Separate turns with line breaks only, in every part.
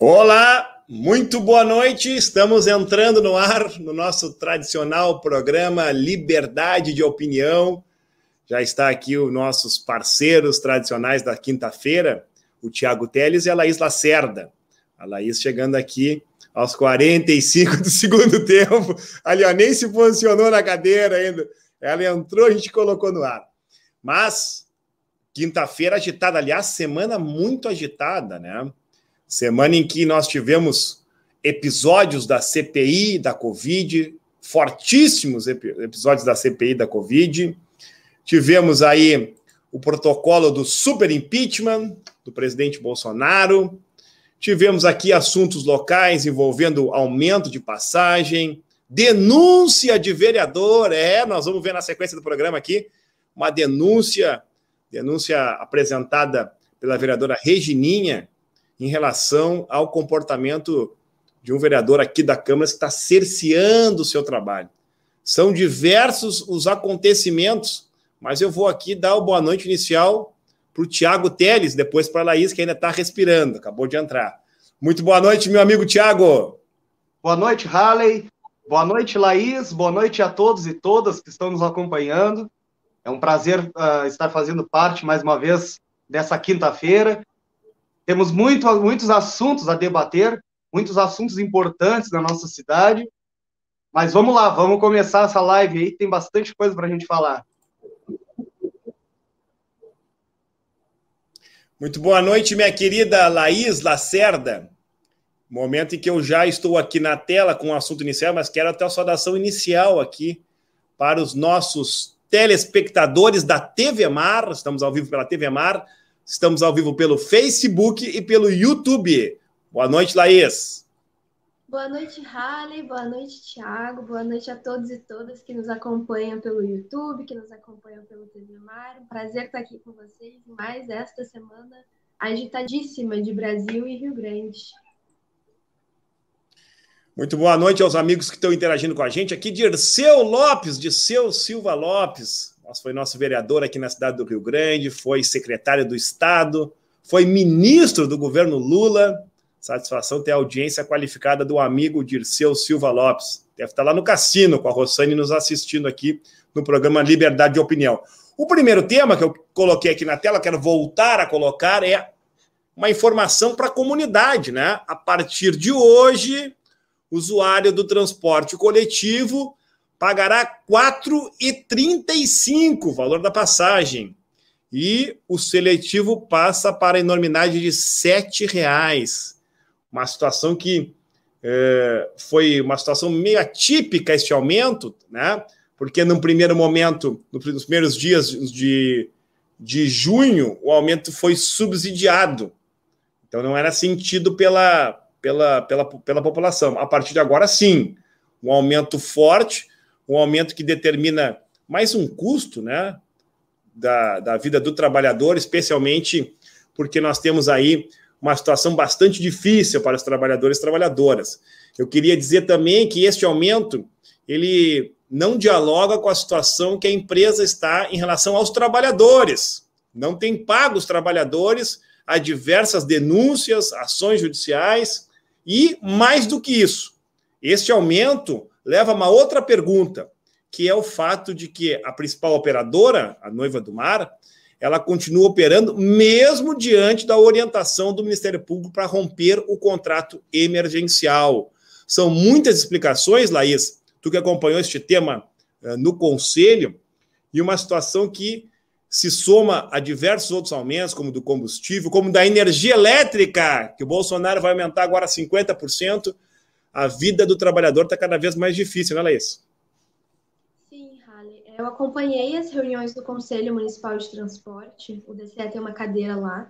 Olá, muito boa noite. Estamos entrando no ar no nosso tradicional programa Liberdade de Opinião. Já está aqui os nossos parceiros tradicionais da quinta-feira, o Thiago Teles e a Laís Lacerda. A Laís chegando aqui aos 45 do segundo tempo. Ali, ó, nem se posicionou na cadeira ainda. Ela entrou, a gente colocou no ar. Mas, quinta-feira agitada. Aliás, semana muito agitada, né? Semana em que nós tivemos episódios da CPI da Covid, fortíssimos episódios da CPI da Covid. Tivemos aí o protocolo do super impeachment do presidente Bolsonaro. Tivemos aqui assuntos locais envolvendo aumento de passagem, denúncia de vereador. Nós vamos ver na sequência do programa aqui uma denúncia apresentada pela vereadora Regininha em relação ao comportamento de um vereador aqui da Câmara que está cerceando o seu trabalho. São diversos os acontecimentos, mas eu vou aqui dar o boa noite inicial para o Thiago Teles, depois para a Laís, que ainda está respirando, acabou de entrar. Muito boa noite, meu amigo Thiago.
Boa noite, Halley. Boa noite, Laís. Boa noite a todos e todas que estão nos acompanhando. É um prazer estar fazendo parte, mais uma vez, dessa quinta-feira. Temos muitos assuntos a debater, muitos assuntos importantes na nossa cidade. Mas vamos lá, vamos começar essa live aí, tem bastante coisa para a gente falar.
Muito boa noite, minha querida Laís Lacerda. Momento em que eu já estou aqui na tela com o assunto inicial, mas quero até a saudação inicial aqui para os nossos telespectadores da TV Mar. Estamos ao vivo pela TV Mar, estamos ao vivo pelo Facebook e pelo YouTube. Boa noite, Laís.
Boa noite, Halley. Boa noite, Thiago. Boa noite a todos e todas que nos acompanham pelo YouTube, que nos acompanham pelo TV Mar. Um prazer estar aqui com vocês em mais esta semana agitadíssima de Brasil e Rio Grande.
Muito boa noite aos amigos que estão interagindo com a gente. Aqui Dirceu Lopes, Dirceu Silva Lopes. Foi nosso vereador aqui na cidade do Rio Grande, foi secretário do Estado, foi ministro do governo Lula. Satisfação ter a audiência qualificada do amigo Dirceu Silva Lopes. Deve estar lá no cassino com a Rossane nos assistindo aqui no programa Liberdade de Opinião. O primeiro tema que eu coloquei aqui na tela, quero voltar a colocar, é uma informação para a comunidade, né? A partir de hoje, o usuário do transporte coletivo pagará R$ 4,35 o valor da passagem. E o seletivo passa para a enormidade de R$ 7,00. Uma situação que foi uma situação meio atípica este aumento, né? Porque no primeiro momento, nos primeiros dias de junho, o aumento foi subsidiado. Então não era sentido pela população. A partir de agora, sim, um aumento forte, um aumento que determina mais um custo, né, da vida do trabalhador, especialmente porque nós temos aí uma situação bastante difícil para os trabalhadores e trabalhadoras. Eu queria dizer também que este aumento, ele não dialoga com a situação que a empresa está em relação aos trabalhadores. Não tem pago os trabalhadores, há diversas denúncias, ações judiciais, e mais do que isso, este aumento leva a uma outra pergunta, que é o fato de que a principal operadora, a Noiva do Mar, ela continua operando mesmo diante da orientação do Ministério Público para romper o contrato emergencial. São muitas explicações, Laís, tu que acompanhou este tema no Conselho, e uma situação que se soma a diversos outros aumentos, como do combustível, como da energia elétrica, que o Bolsonaro vai aumentar agora 50%, a vida do trabalhador está cada vez mais difícil, né, Laís?
Sim, Halley. Eu acompanhei as reuniões do Conselho Municipal de Transporte, o DCE tem uma cadeira lá,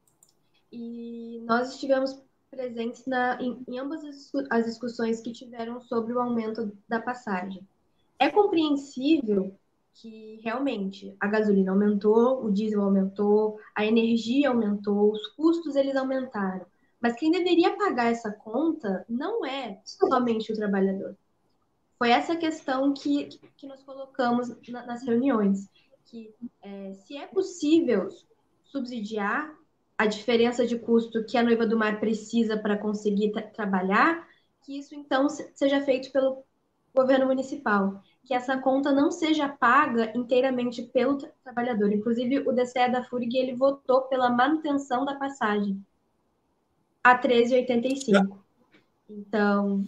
e nós estivemos presentes em ambas as discussões que tiveram sobre o aumento da passagem. É compreensível que realmente a gasolina aumentou, o diesel aumentou, a energia aumentou, os custos eles aumentaram. Mas quem deveria pagar essa conta não é somente o trabalhador. Foi essa questão que nós colocamos nas reuniões, que se é possível subsidiar a diferença de custo que a Noiva do Mar precisa para conseguir trabalhar, que isso então seja feito pelo governo municipal, que essa conta não seja paga inteiramente pelo trabalhador. Inclusive, o DCE da FURG, ele votou pela manutenção da passagem a R$ 13,85. Então...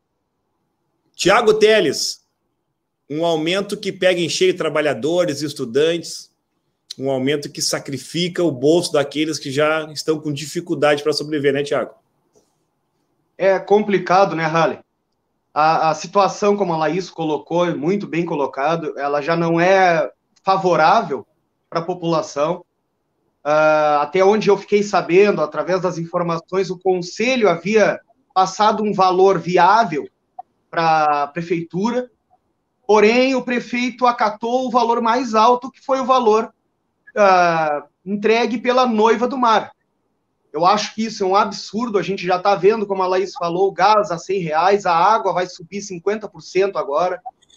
Tiago Teles, um aumento que pega em cheio trabalhadores e estudantes, um aumento que sacrifica o bolso daqueles que já estão com dificuldade para sobreviver, né, Tiago?
É complicado, né, Halle? A situação, como a Laís colocou, muito bem colocado, ela já não é favorável para a população. Até onde eu fiquei sabendo, através das informações, o Conselho havia passado um valor viável para a Prefeitura, porém o prefeito acatou o valor mais alto, que foi o valor entregue pela Noiva do Mar. Eu acho que isso é um absurdo, a gente já está vendo, como a Laís falou, o gás a R$100, a água vai subir 50% agora,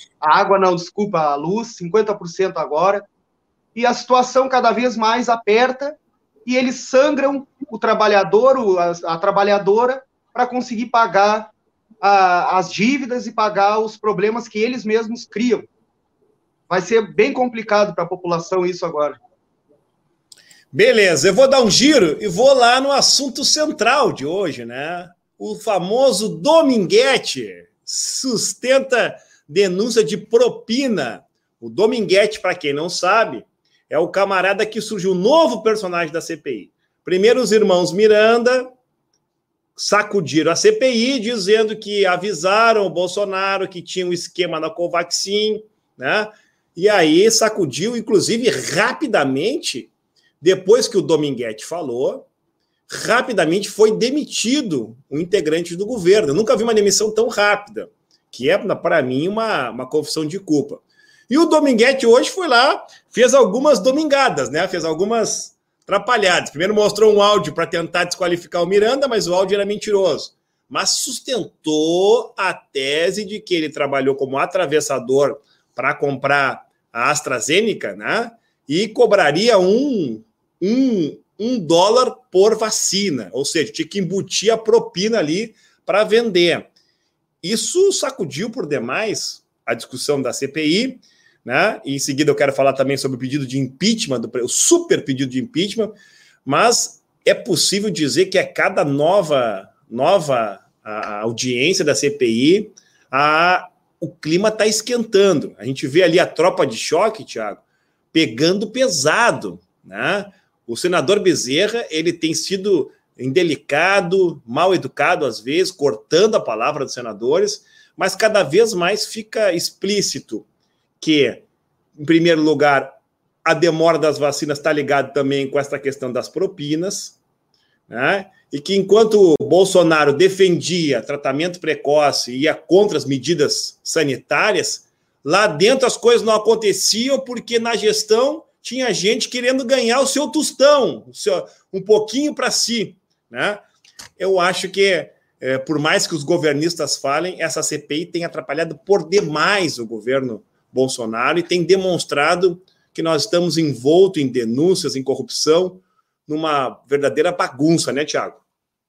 a luz 50% agora, e a situação cada vez mais aperta, e eles sangram o trabalhador, a trabalhadora, para conseguir pagar as dívidas e pagar os problemas que eles mesmos criam. Vai ser bem complicado para a população isso agora.
Beleza, eu vou dar um giro e vou lá no assunto central de hoje, né? O famoso Dominguete sustenta denúncia de propina. O Dominguete, para quem não sabe, é o camarada que surgiu um novo personagem da CPI. Primeiro, os irmãos Miranda sacudiram a CPI, dizendo que avisaram o Bolsonaro que tinha um esquema na Covaxin, né? E aí sacudiu, inclusive, rapidamente. Depois que o Dominguete falou, rapidamente foi demitido um integrante do governo. Eu nunca vi uma demissão tão rápida, que é, para mim, uma confissão de culpa. E o Dominguete hoje foi lá, fez algumas domingadas, né? Fez algumas atrapalhadas. Primeiro mostrou um áudio para tentar desqualificar o Miranda, mas o áudio era mentiroso. Mas sustentou a tese de que ele trabalhou como atravessador para comprar a AstraZeneca, né? E cobraria um dólar por vacina, ou seja, tinha que embutir a propina ali para vender. Isso sacudiu por demais a discussão da CPI, né? E em seguida eu quero falar também sobre o pedido de impeachment, o super pedido de impeachment, mas é possível dizer que a cada nova a audiência da CPI, o clima está esquentando. A gente vê ali a tropa de choque, Thiago, pegando pesado, né? O senador Bezerra, ele tem sido indelicado, mal educado às vezes, cortando a palavra dos senadores, mas cada vez mais fica explícito que, em primeiro lugar, a demora das vacinas está ligada também com essa questão das propinas, né? E que enquanto o Bolsonaro defendia tratamento precoce e ia contra as medidas sanitárias, lá dentro as coisas não aconteciam porque na gestão tinha gente querendo ganhar o seu tostão, um pouquinho para si, né? Eu acho que, por mais que os governistas falem, essa CPI tem atrapalhado por demais o governo Bolsonaro e tem demonstrado que nós estamos envoltos em denúncias, em corrupção, numa verdadeira bagunça, né, Tiago?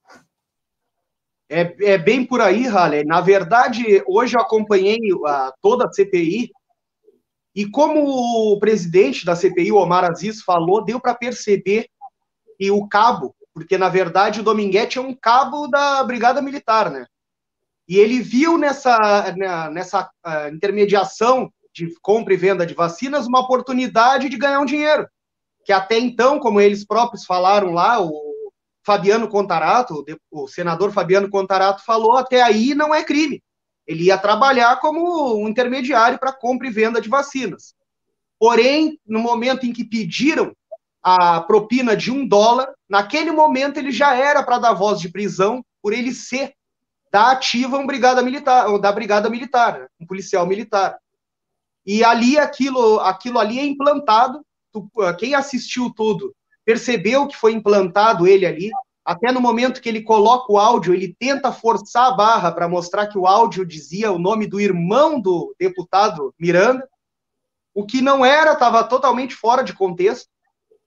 É bem por aí, Halle. Na verdade, hoje eu acompanhei toda a CPI e como o presidente da CPI, o Omar Aziz, falou, deu para perceber que o cabo, porque na verdade o Dominguete é um cabo da Brigada Militar, né? E ele viu nessa intermediação de compra e venda de vacinas uma oportunidade de ganhar um dinheiro, que até então, como eles próprios falaram lá, o Fabiano Contarato, o senador Fabiano Contarato falou, até aí não é crime. Ele ia trabalhar como um intermediário para compra e venda de vacinas. Porém, no momento em que pediram a propina de $1, naquele momento ele já era para dar voz de prisão por ele ser da ativa brigada militar, ou da Brigada Militar, um policial militar. E ali aquilo ali é implantado. Quem assistiu tudo percebeu que foi implantado ele ali. Até no momento que ele coloca o áudio, ele tenta forçar a barra para mostrar que o áudio dizia o nome do irmão do deputado Miranda, o que não era, estava totalmente fora de contexto.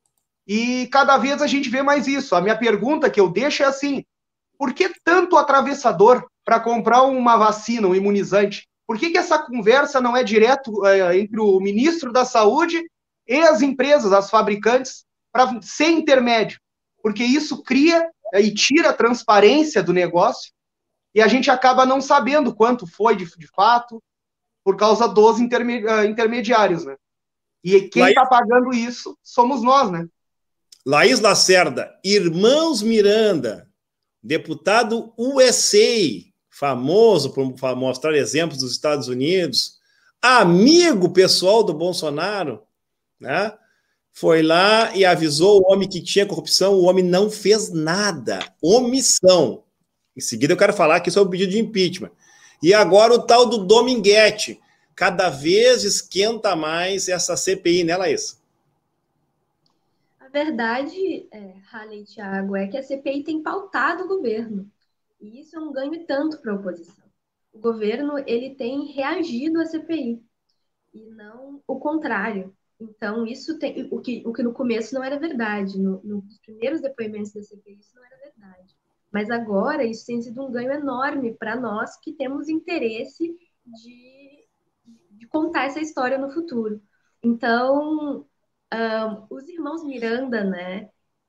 E cada vez a gente vê mais isso. A minha pergunta que eu deixo é assim, por que tanto atravessador para comprar uma vacina, um imunizante? Por que essa conversa não é direto entre o ministro da Saúde e as empresas, as fabricantes, para ser intermédio? Porque isso cria e tira a transparência do negócio e a gente acaba não sabendo quanto foi de fato por causa dos intermediários, né? E quem está pagando isso somos nós, né?
Laís Lacerda, Irmãos Miranda, deputado USA, famoso por mostrar exemplos dos Estados Unidos, amigo pessoal do Bolsonaro, né? Foi lá e avisou o homem que tinha corrupção, o homem não fez nada, omissão. Em seguida eu quero falar aqui sobre o pedido de impeachment. E agora o tal do Dominguete, cada vez esquenta mais essa CPI, né, Laís?
A verdade, Halley e Thiago, é que a CPI tem pautado o governo. E isso é um ganho tanto para a oposição. O governo ele tem reagido à CPI e não o contrário. Então, isso tem o que no começo não era verdade. Nos primeiros depoimentos da CPI, isso não era verdade. Mas agora, isso tem sido um ganho enorme para nós que temos interesse de contar essa história no futuro. Então, os irmãos Miranda, né?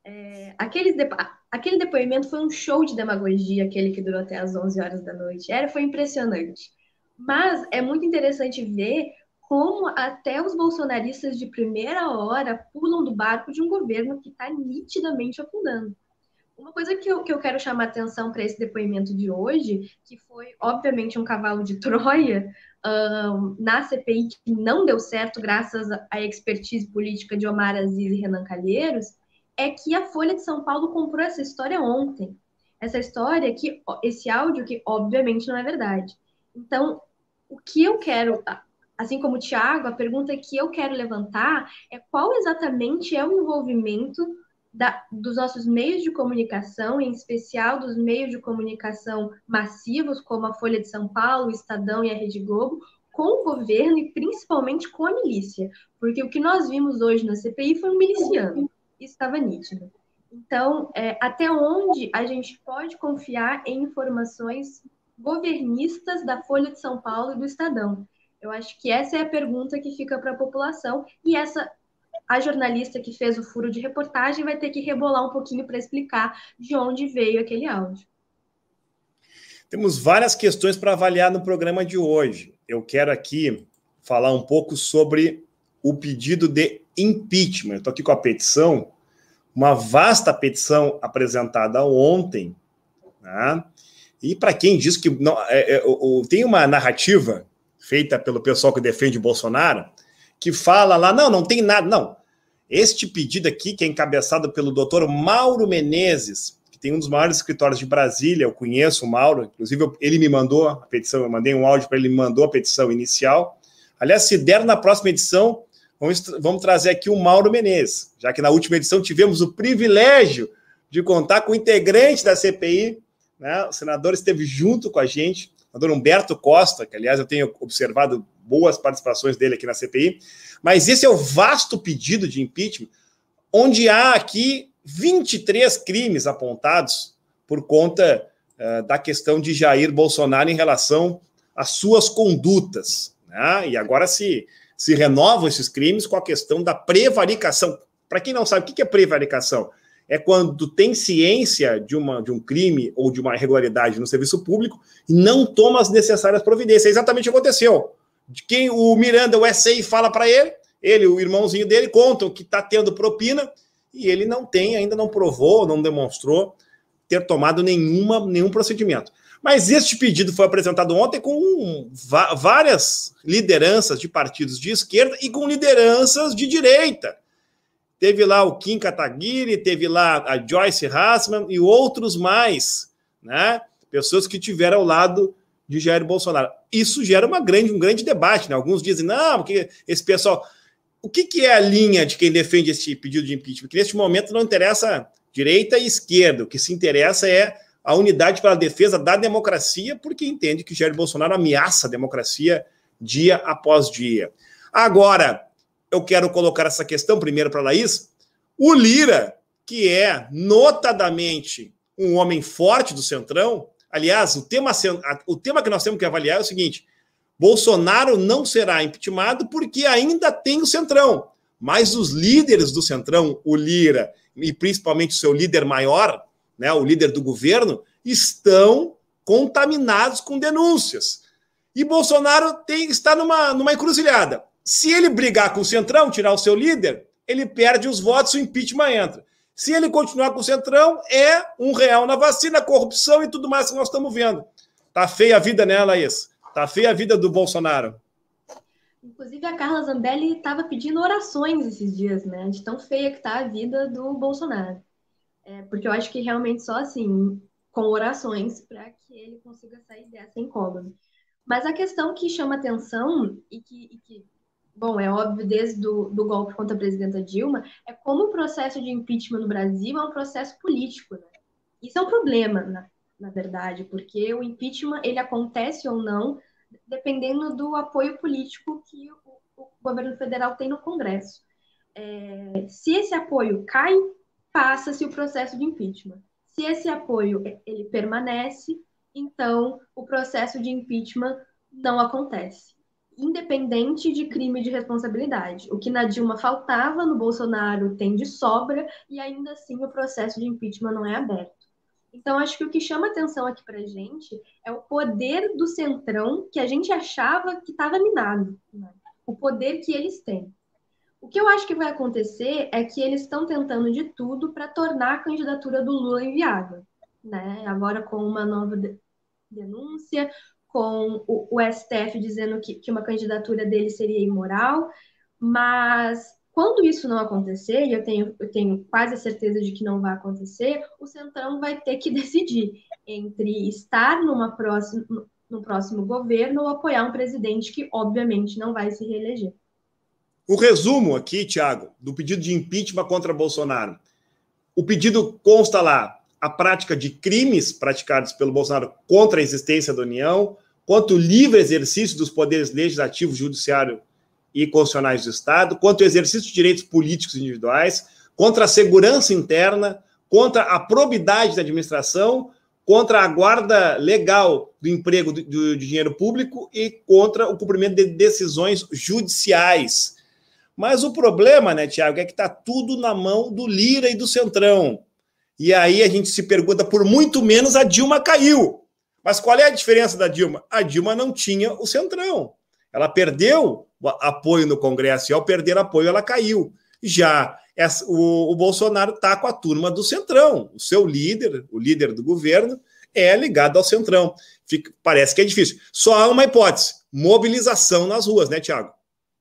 Aquele depoimento foi um show de demagogia, aquele que durou até as 11 horas da noite. Foi impressionante. Mas é muito interessante ver como até os bolsonaristas de primeira hora pulam do barco de um governo que está nitidamente afundando. Uma coisa que eu quero chamar atenção para esse depoimento de hoje, que foi, obviamente, um cavalo de Troia, na CPI, que não deu certo graças à expertise política de Omar Aziz e Renan Calheiros, é que a Folha de São Paulo comprou essa história ontem. Essa história, esse áudio que, obviamente, não é verdade. Então, o que eu quero... Assim como o Thiago, a pergunta que eu quero levantar é qual exatamente é o envolvimento dos nossos meios de comunicação, em especial dos meios de comunicação massivos, como a Folha de São Paulo, o Estadão e a Rede Globo, com o governo e principalmente com a milícia. Porque o que nós vimos hoje na CPI foi um miliciano. Isso estava nítido. Então, até onde a gente pode confiar em informações governistas da Folha de São Paulo e do Estadão? Eu acho que essa é a pergunta que fica para a população e a jornalista que fez o furo de reportagem vai ter que rebolar um pouquinho para explicar de onde veio aquele áudio.
Temos várias questões para avaliar no programa de hoje. Eu quero aqui falar um pouco sobre o pedido de impeachment. Eu estou aqui com a petição, uma vasta petição apresentada ontem, né? E para quem diz que não, tem uma narrativa feita pelo pessoal que defende o Bolsonaro, que fala lá, não tem nada, não. Este pedido aqui, que é encabeçado pelo doutor Mauro Menezes, que tem um dos maiores escritórios de Brasília, eu conheço o Mauro, inclusive ele me mandou a petição, eu mandei um áudio para ele, me mandou a petição inicial. Aliás, se der na próxima edição, vamos trazer aqui o Mauro Menezes, já que na última edição tivemos o privilégio de contar com o integrante da CPI, né? O senador esteve junto com a gente, o senador Humberto Costa, que, aliás, eu tenho observado boas participações dele aqui na CPI, mas esse é o vasto pedido de impeachment, onde há aqui 23 crimes apontados por conta da questão de Jair Bolsonaro em relação às suas condutas, né? E agora se renovam esses crimes com a questão da prevaricação. Para quem não sabe, o que é prevaricação? É quando tem ciência de um crime ou de uma irregularidade no serviço público e não toma as necessárias providências. É exatamente o que aconteceu. De quem o Miranda, o SAI, fala para ele, o irmãozinho dele, contam que está tendo propina e ele ainda não provou, não demonstrou ter tomado nenhum procedimento. Mas este pedido foi apresentado ontem com várias lideranças de partidos de esquerda e com lideranças de direita. Teve lá o Kim Kataguiri, teve lá a Joyce Hasselman e outros mais, né? Pessoas que estiveram ao lado de Jair Bolsonaro. Isso gera um grande debate, né? Alguns dizem, não, porque esse pessoal... O que é a linha de quem defende esse pedido de impeachment? Que neste momento não interessa direita e esquerda, o que se interessa é a unidade pela defesa da democracia, porque entende que Jair Bolsonaro ameaça a democracia dia após dia. Agora, eu quero colocar essa questão primeiro para a Laís. O Lira, que é notadamente um homem forte do Centrão, aliás, o tema que nós temos que avaliar é o seguinte: Bolsonaro não será impeachmentado porque ainda tem o Centrão, mas os líderes do Centrão, o Lira e principalmente o seu líder maior, né, o líder do governo, estão contaminados com denúncias. E Bolsonaro está numa encruzilhada. Se ele brigar com o Centrão, tirar o seu líder, ele perde os votos, o impeachment entra. Se ele continuar com o Centrão, é R$1 na vacina, corrupção e tudo mais que nós estamos vendo. Tá feia a vida, né, Laís? Tá feia a vida do Bolsonaro.
Inclusive, a Carla Zambelli estava pedindo orações esses dias, né? De tão feia que tá a vida do Bolsonaro. Porque eu acho que realmente só assim, com orações, para que ele consiga sair dessa incógnita. Mas a questão que chama atenção e que bom, é óbvio desde do golpe contra a presidenta Dilma, é como o processo de impeachment no Brasil é um processo político, né? Isso é um problema, na verdade, porque o impeachment, ele acontece ou não, dependendo do apoio político que o governo federal tem no Congresso. Se esse apoio cai, passa-se o processo de impeachment. Se esse apoio ele permanece, então o processo de impeachment não acontece, independente de crime de responsabilidade. O que na Dilma faltava, no Bolsonaro tem de sobra, e ainda assim o processo de impeachment não é aberto. Então, acho que o que chama atenção aqui pra gente é o poder do Centrão, que a gente achava que estava minado, né? O poder que eles têm. O que eu acho que vai acontecer é que eles estão tentando de tudo para tornar a candidatura do Lula inviável, né? Agora com uma nova denúncia, com o STF dizendo que uma candidatura dele seria imoral, mas quando isso não acontecer, e eu tenho quase a certeza de que não vai acontecer, o Centrão vai ter que decidir entre estar no próximo governo ou apoiar um presidente que, obviamente, não vai se reeleger.
O resumo aqui, Thiago, do pedido de impeachment contra Bolsonaro. O pedido consta lá a prática de crimes praticados pelo Bolsonaro contra a existência da União, quanto o livre exercício dos poderes legislativo, judiciário e constitucionais do Estado, quanto o exercício de direitos políticos individuais, contra a segurança interna, contra a probidade da administração, contra a guarda legal do emprego do dinheiro público e contra o cumprimento de decisões judiciais. Mas o problema, né, Tiago, é que está tudo na mão do Lira e do Centrão. E aí a gente se pergunta, por muito menos a Dilma caiu. Mas qual é a diferença da Dilma? A Dilma não tinha o Centrão. Ela perdeu apoio no Congresso e ao perder apoio ela caiu. Já o Bolsonaro está com a turma do Centrão. O seu líder, o líder do governo, é ligado ao Centrão. Parece que é difícil. Só há uma hipótese, mobilização nas ruas, né, Tiago?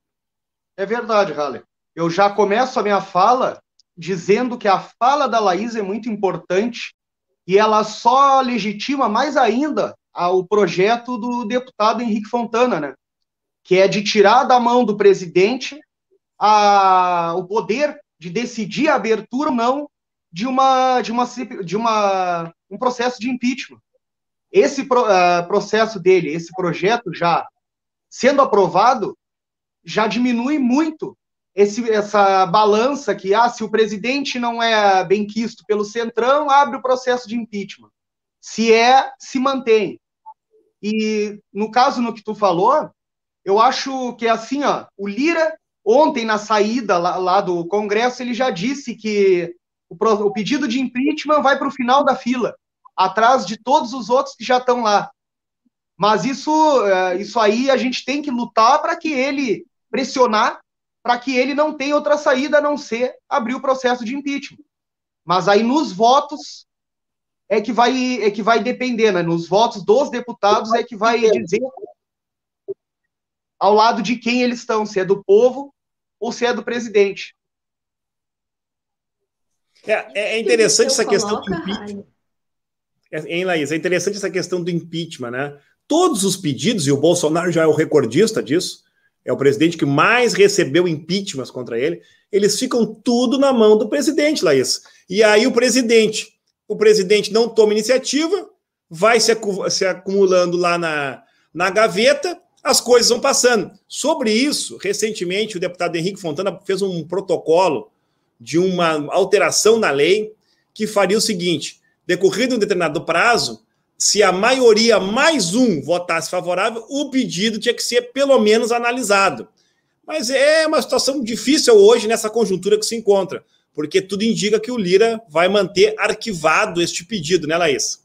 É verdade, Halle. Eu já começo a minha fala dizendo que a fala da Laís é muito importante e ela só legitima mais ainda o projeto do deputado Henrique Fontana, né? Que é de tirar da mão do presidente o poder de decidir a abertura ou não de um processo de impeachment. Esse processo dele, esse projeto já sendo aprovado, já diminui muito essa balança que, se o presidente não é benquisto pelo Centrão, abre o processo de impeachment. Se mantém. E, no caso, no que tu falou, eu acho que, assim, o Lira, ontem, na saída lá do Congresso, ele já disse que o pedido de impeachment vai para o final da fila, atrás de todos os outros que já estão lá. Mas isso aí a gente tem que lutar para que ele pressionar, para que ele não tenha outra saída a não ser abrir o processo de impeachment. Mas aí nos votos é que vai depender, né? Nos votos dos deputados é que vai dizer ao lado de quem eles estão, se é do povo ou se é do presidente.
É interessante essa questão do impeachment. Hein, Laís? É interessante essa questão do impeachment, né? Todos os pedidos, e o Bolsonaro já é o recordista disso, é o presidente que mais recebeu impeachments contra ele, eles ficam tudo na mão do presidente, Laís. E aí o presidente não toma iniciativa, vai se acumulando lá na gaveta, as coisas vão passando. Sobre isso, recentemente, o deputado Henrique Fontana fez um protocolo de uma alteração na lei que faria o seguinte: decorrido um determinado prazo, se a maioria mais um votasse favorável, o pedido tinha que ser pelo menos analisado. Mas é uma situação difícil hoje nessa conjuntura que se encontra, porque tudo indica que o Lira vai manter arquivado este pedido, né, Laís?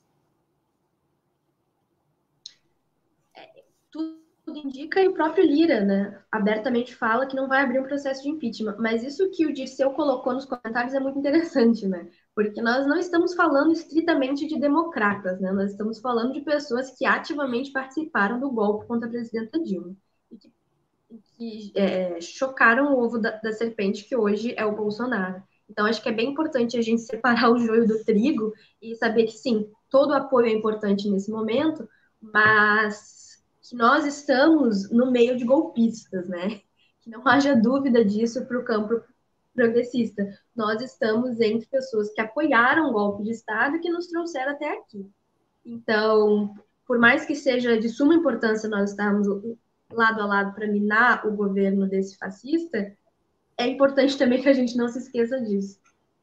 Tudo indica, e o próprio Lira, né, abertamente fala que não vai abrir um processo de impeachment. Mas isso que o Dirceu colocou nos comentários é muito interessante, né? Porque nós não estamos falando estritamente de democratas, né? Nós estamos falando de pessoas que ativamente participaram do golpe contra a presidenta Dilma. E que chocaram o ovo da serpente, que hoje é o Bolsonaro. Então, acho que é bem importante a gente separar o joio do trigo e saber que, sim, todo apoio é importante nesse momento, mas que nós estamos no meio de golpistas, né? Que não haja dúvida disso para o campo progressista. Nós estamos entre pessoas que apoiaram o golpe de Estado e que nos trouxeram até aqui. Então, por mais que seja de suma importância nós estarmos lado a lado para minar o governo desse fascista, é importante também que a gente não se esqueça disso.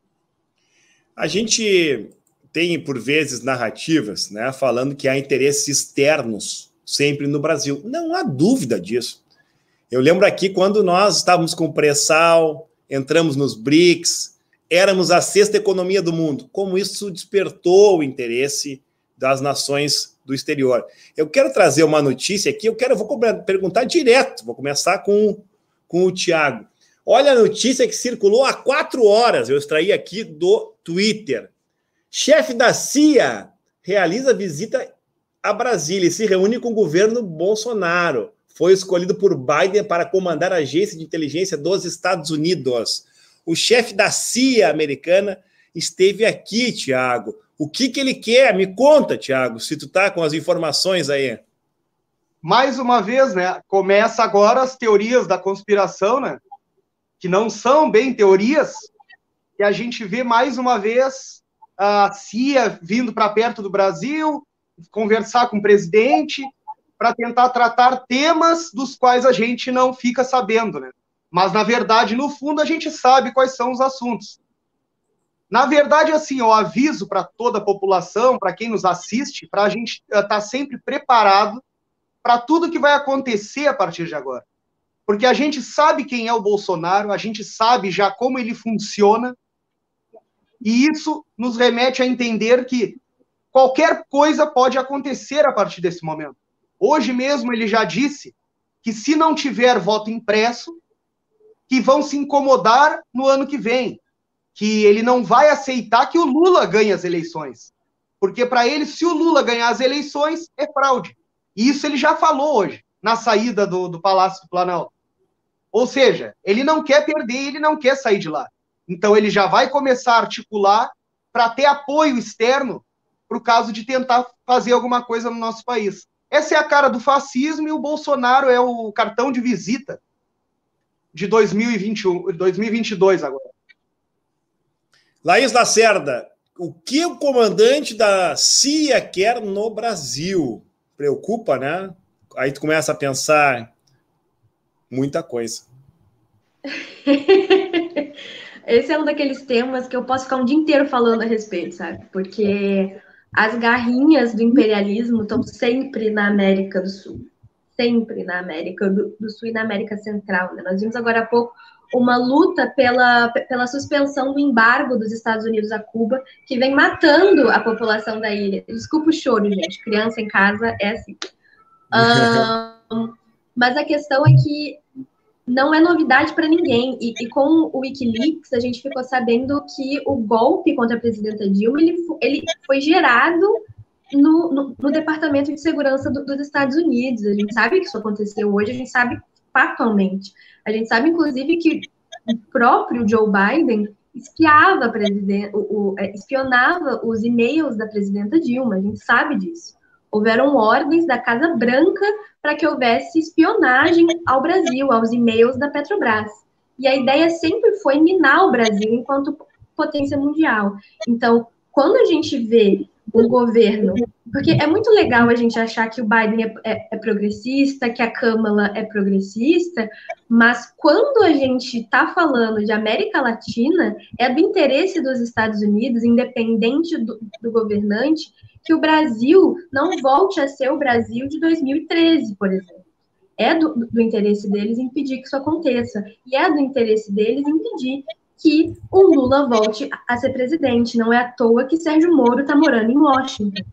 A gente tem, por vezes, narrativas, né, falando que há interesses externos sempre no Brasil. Não há dúvida disso. Eu lembro aqui quando nós estávamos com o pré-sal, entramos nos BRICS, éramos a 6ª economia do mundo. Como isso despertou o interesse das nações do exterior. Eu quero trazer uma notícia aqui, vou perguntar direto, vou começar com o Tiago. Olha a notícia que circulou há 4 horas, eu extraí aqui do Twitter. Chefe da CIA realiza visita a Brasília e se reúne com o governo Bolsonaro. Foi escolhido por Biden para comandar a agência de inteligência dos Estados Unidos. O chefe da CIA americana esteve aqui, Tiago. O que ele quer? Me conta, Tiago, se tu tá com as informações aí.
Mais uma vez, né? Começa agora as teorias da conspiração, né? Que não são bem teorias, que a gente vê mais uma vez a CIA vindo para perto do Brasil, conversar com o presidente, para tentar tratar temas dos quais a gente não fica sabendo, né? Mas, na verdade, no fundo, a gente sabe quais são os assuntos. Na verdade, assim, eu aviso para toda a população, para quem nos assiste, para a gente estar sempre preparado para tudo que vai acontecer a partir de agora. Porque a gente sabe quem é o Bolsonaro, a gente sabe já como ele funciona, e isso nos remete a entender que qualquer coisa pode acontecer a partir desse momento. Hoje mesmo ele já disse que se não tiver voto impresso, que vão se incomodar no ano que vem, que ele não vai aceitar que o Lula ganhe as eleições. Porque para ele, se o Lula ganhar as eleições, é fraude. E isso ele já falou hoje, na saída do Palácio do Planalto. Ou seja, ele não quer perder, ele não quer sair de lá. Então ele já vai começar a articular para ter apoio externo para o caso de tentar fazer alguma coisa no nosso país. Essa é a cara do fascismo e o Bolsonaro é o cartão de visita de 2022 agora.
Laís Lacerda, o que o comandante da CIA quer no Brasil? Preocupa, né? Aí tu começa a pensar muita coisa.
Esse é um daqueles temas que eu posso ficar um dia inteiro falando a respeito, sabe? Porque as garrinhas do imperialismo estão sempre na América do Sul. Sempre na América do Sul e na América Central, né? Nós vimos agora há pouco uma luta pela suspensão do embargo dos Estados Unidos a Cuba, que vem matando a população da ilha. Desculpa o choro, gente. Criança em casa é assim. Mas a questão é que não é novidade para ninguém. E com o Wikileaks, a gente ficou sabendo que o golpe contra a presidenta Dilma ele foi gerado no Departamento de Segurança dos Estados Unidos. A gente sabe que isso aconteceu hoje, a gente sabe factualmente. A gente sabe, inclusive, que o próprio Joe Biden espionava os e-mails da presidenta Dilma. A gente sabe disso. Houveram ordens da Casa Branca para que houvesse espionagem ao Brasil, aos e-mails da Petrobras. E a ideia sempre foi minar o Brasil enquanto potência mundial. Então, quando a gente vê um governo. Porque é muito legal a gente achar que o Biden é progressista, que a Câmara é progressista, mas quando a gente está falando de América Latina, é do interesse dos Estados Unidos, independente do governante, que o Brasil não volte a ser o Brasil de 2013, por exemplo. É do interesse deles impedir que isso aconteça. E é do interesse deles impedir que o Lula volte a ser presidente. Não é à toa que Sérgio Moro está morando em Washington.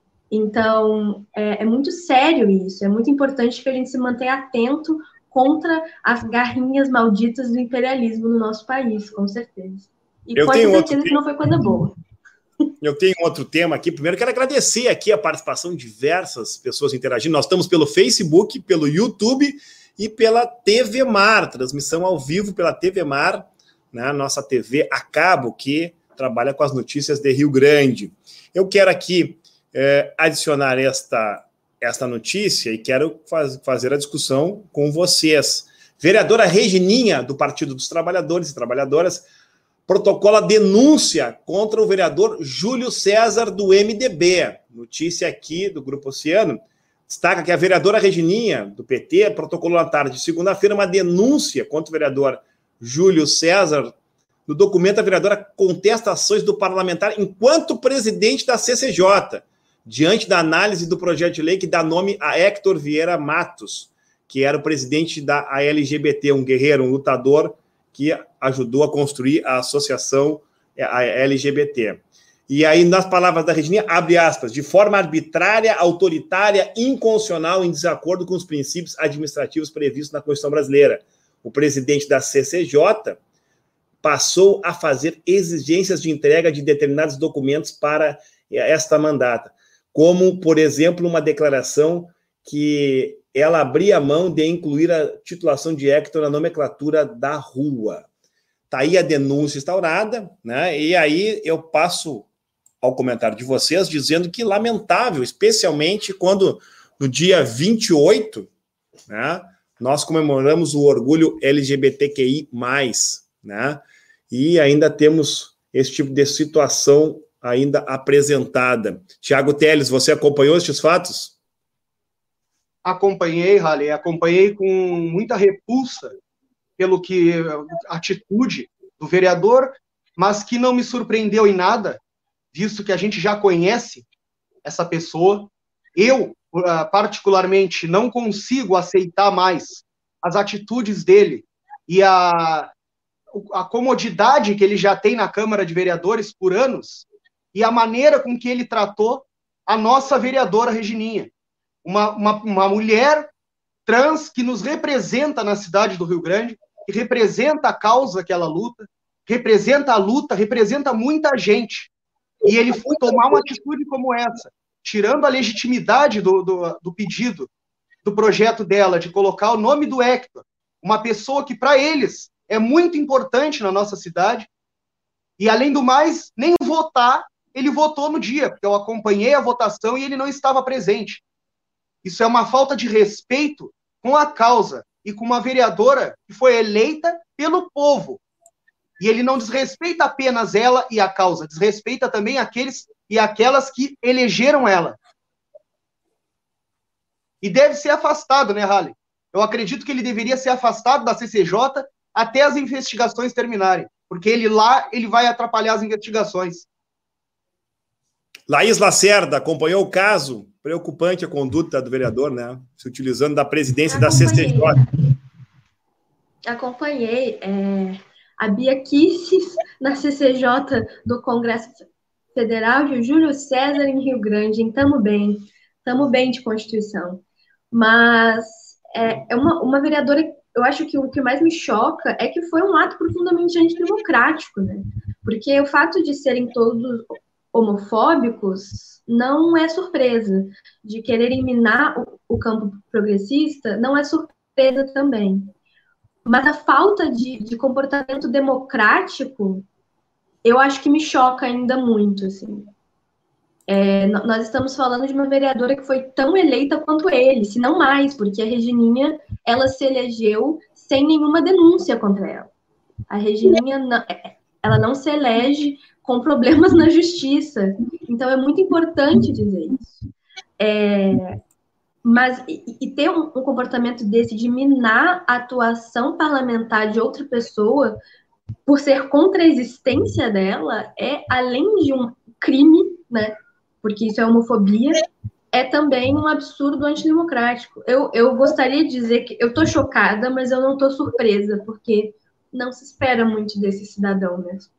Então, é muito sério isso. É muito importante que a gente se mantenha atento contra as garrinhas malditas do imperialismo no nosso país, com certeza. E pode ter certeza que não foi coisa boa.
Eu tenho outro tema aqui. Primeiro, quero agradecer aqui a participação de diversas pessoas interagindo. Nós estamos pelo Facebook, pelo YouTube e pela TV Mar, transmissão ao vivo pela TV Mar, né? Nossa TV a cabo, que trabalha com as notícias de Rio Grande. Eu quero aqui adicionar esta notícia e quero fazer a discussão com vocês. Vereadora Regininha, do Partido dos Trabalhadores e Trabalhadoras, protocola denúncia contra o vereador Júlio César, do MDB. Notícia aqui do Grupo Oceano destaca que a vereadora Regininha, do PT, protocolou na tarde de segunda-feira uma denúncia contra o vereador Júlio César. No documento, a vereadora contesta ações do parlamentar enquanto presidente da CCJ, diante da análise do projeto de lei que dá nome a Héctor Vieira Matos, que era o presidente da LGBT, um guerreiro, um lutador, que ajudou a construir a associação a LGBT. E aí, nas palavras da Regininha, abre aspas, de forma arbitrária, autoritária, inconstitucional, em desacordo com os princípios administrativos previstos na Constituição brasileira. O presidente da CCJ passou a fazer exigências de entrega de determinados documentos para esta mandata, como, por exemplo, uma declaração que ela abria mão de incluir a titulação de Héctor na nomenclatura da rua. Está aí a denúncia instaurada, né? E aí eu passo ao comentário de vocês dizendo que lamentável, especialmente quando no dia 28, né, nós comemoramos o orgulho LGBTQI+, né? E ainda temos esse tipo de situação ainda apresentada. Tiago Teles, você acompanhou estes fatos?
Acompanhei, Halley, acompanhei com muita repulsa pelo que a atitude do vereador, mas que não me surpreendeu em nada, visto que a gente já conhece essa pessoa. Eu, particularmente, não consigo aceitar mais as atitudes dele e a comodidade que ele já tem na Câmara de Vereadores por anos e a maneira com que ele tratou a nossa vereadora Regininha. Uma mulher trans que nos representa na cidade do Rio Grande, que representa a causa que ela luta, representa a luta, representa muita gente. E ele tomar uma atitude como essa, tirando a legitimidade do pedido, do projeto dela, de colocar o nome do Héctor, uma pessoa que, para eles, é muito importante na nossa cidade, e, além do mais, nem votar, ele votou no dia, porque eu acompanhei a votação e ele não estava presente. Isso é uma falta de respeito com a causa e com uma vereadora que foi eleita pelo povo. E ele não desrespeita apenas ela e a causa, desrespeita também aqueles e aquelas que elegeram ela. E deve ser afastado, né, Halley? Eu acredito que ele deveria ser afastado da CCJ até as investigações terminarem, porque ele vai atrapalhar as investigações.
Laís Lacerda acompanhou o caso. Preocupante a conduta do vereador, né? Se utilizando da presidência da CCJ.
Acompanhei. A Bia Kicis na CCJ do Congresso Federal de Júlio César em Rio Grande. Tamo bem de Constituição. Mas é uma vereadora, eu acho que o que mais me choca é que foi um ato profundamente antidemocrático, né? Porque o fato de serem todos homofóbicos não é surpresa. De querer eliminar o campo progressista não é surpresa também. Mas a falta de comportamento democrático, eu acho que me choca ainda muito, assim. Nós estamos falando de uma vereadora que foi tão eleita quanto ele, se não mais, porque a Regininha, ela se elegeu sem nenhuma denúncia contra ela. A Regininha, ela não se elege com problemas na justiça. Então, é muito importante dizer isso. Mas ter um comportamento desse de minar a atuação parlamentar de outra pessoa por ser contra a existência dela além de um crime, né? Porque isso é homofobia, é também um absurdo antidemocrático. Eu gostaria de dizer que eu tô chocada, mas eu não tô surpresa, porque não se espera muito desse cidadão mesmo.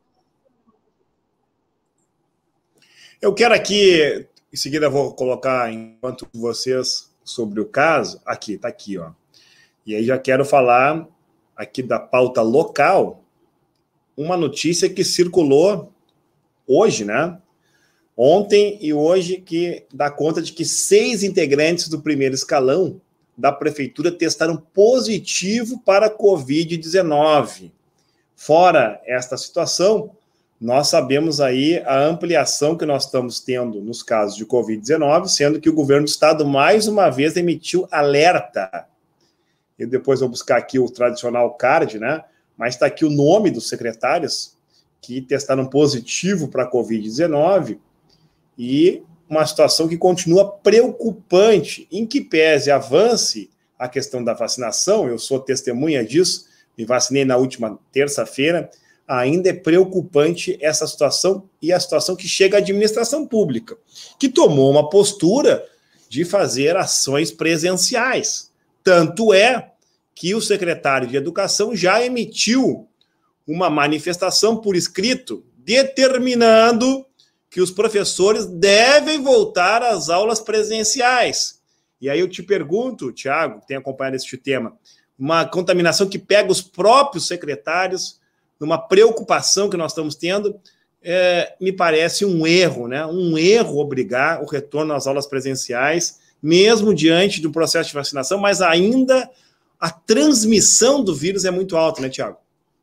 Eu quero aqui, em seguida vou colocar enquanto vocês sobre o caso, aqui, tá aqui, ó. E aí já quero falar aqui da pauta local, uma notícia que circulou hoje, né? Ontem e hoje, que dá conta de que 6 integrantes do primeiro escalão da prefeitura testaram positivo para a Covid-19. Fora esta situação, nós sabemos aí a ampliação que nós estamos tendo nos casos de Covid-19, sendo que o governo do estado, mais uma vez, emitiu alerta. Eu depois vou buscar aqui o tradicional card, né? Mas está aqui o nome dos secretários que testaram positivo para a Covid-19 e uma situação que continua preocupante, em que pese avance a questão da vacinação, eu sou testemunha disso, me vacinei na última terça-feira, ainda é preocupante essa situação e a situação que chega à administração pública, que tomou uma postura de fazer ações presenciais. Tanto é que o secretário de Educação já emitiu uma manifestação por escrito determinando que os professores devem voltar às aulas presenciais. E aí eu te pergunto, Tiago, que tem acompanhado este tema, uma contaminação que pega os próprios secretários, numa preocupação que nós estamos tendo, me parece um erro, né? Um erro obrigar o retorno às aulas presenciais, mesmo diante do processo de vacinação, mas ainda a transmissão do vírus é muito alta, né, Tiago?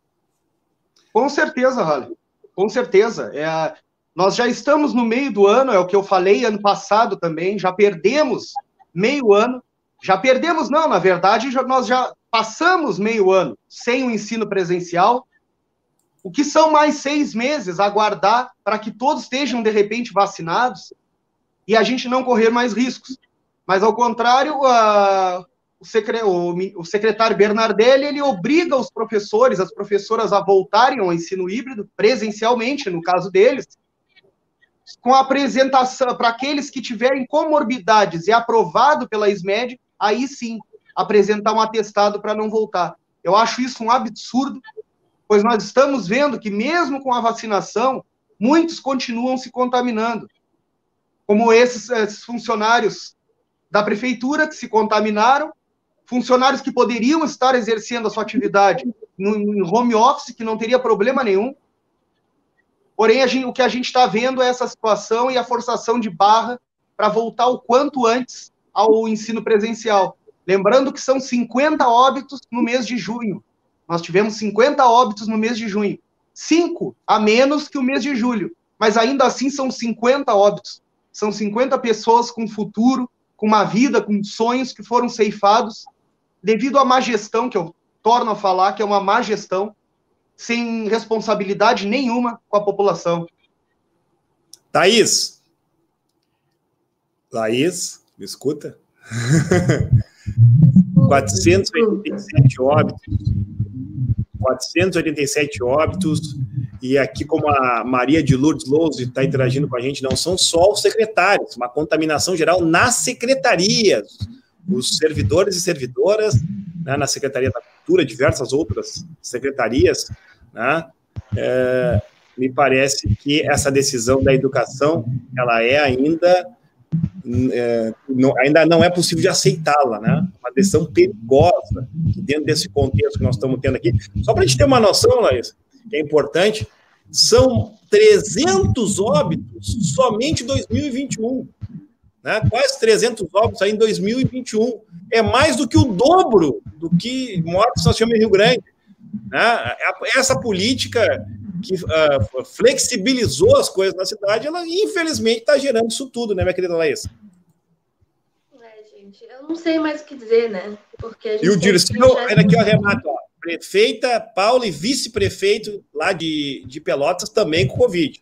Com certeza, Rally. Com certeza. Nós já estamos no meio do ano, é o que eu falei ano passado também, já perdemos meio ano. Já perdemos, não, na verdade, nós já passamos meio ano sem o ensino presencial. O que são mais 6 meses aguardar para que todos estejam, de repente, vacinados e a gente não correr mais riscos. Mas, ao contrário, o secretário Bernardelli, ele obriga os professores, as professoras a voltarem ao ensino híbrido, presencialmente, no caso deles, com a apresentação para aqueles que tiverem comorbidades e aprovado pela SMED, aí sim, apresentar um atestado para não voltar. Eu acho isso um absurdo, pois nós estamos vendo que mesmo com a vacinação, muitos continuam se contaminando, como esses funcionários da prefeitura que se contaminaram, funcionários que poderiam estar exercendo a sua atividade no home office, que não teria problema nenhum. Porém, o que a gente está vendo é essa situação e a forçação de barra para voltar o quanto antes ao ensino presencial. Lembrando que são 50 óbitos no mês de junho. Nós tivemos 50 óbitos no mês de junho. 5 a menos que o mês de julho. Mas ainda assim são 50 óbitos. São 50 pessoas com futuro, com uma vida, com sonhos que foram ceifados devido à má gestão, que eu torno a falar que é uma má gestão, sem responsabilidade nenhuma com a população.
Thaís, me escuta? 487 óbitos. 487 óbitos, e aqui, como a Maria de Lourdes Lousa está interagindo com a gente, não são só os secretários, uma contaminação geral nas secretarias, os servidores e servidoras, né, na Secretaria da Cultura, diversas outras secretarias, né, me parece que essa decisão da educação, ela ainda não é possível de aceitá-la, né? Uma decisão perigosa dentro desse contexto que nós estamos tendo aqui. Só para a gente ter uma noção, Laís, que é importante, são 300 óbitos somente em 2021, né? Quase 300 óbitos aí em 2021. É mais do que o dobro do que mortes nós tivemos em Rio Grande, né? Essa política que flexibilizou as coisas na cidade, ela infelizmente está gerando isso tudo, né, minha querida Laís?
Gente, eu não sei mais o que dizer, né? Porque a gente
e o Dirceu, olha aqui, ó, Renato, ó, prefeita Paula e vice-prefeito lá de Pelotas também com Covid.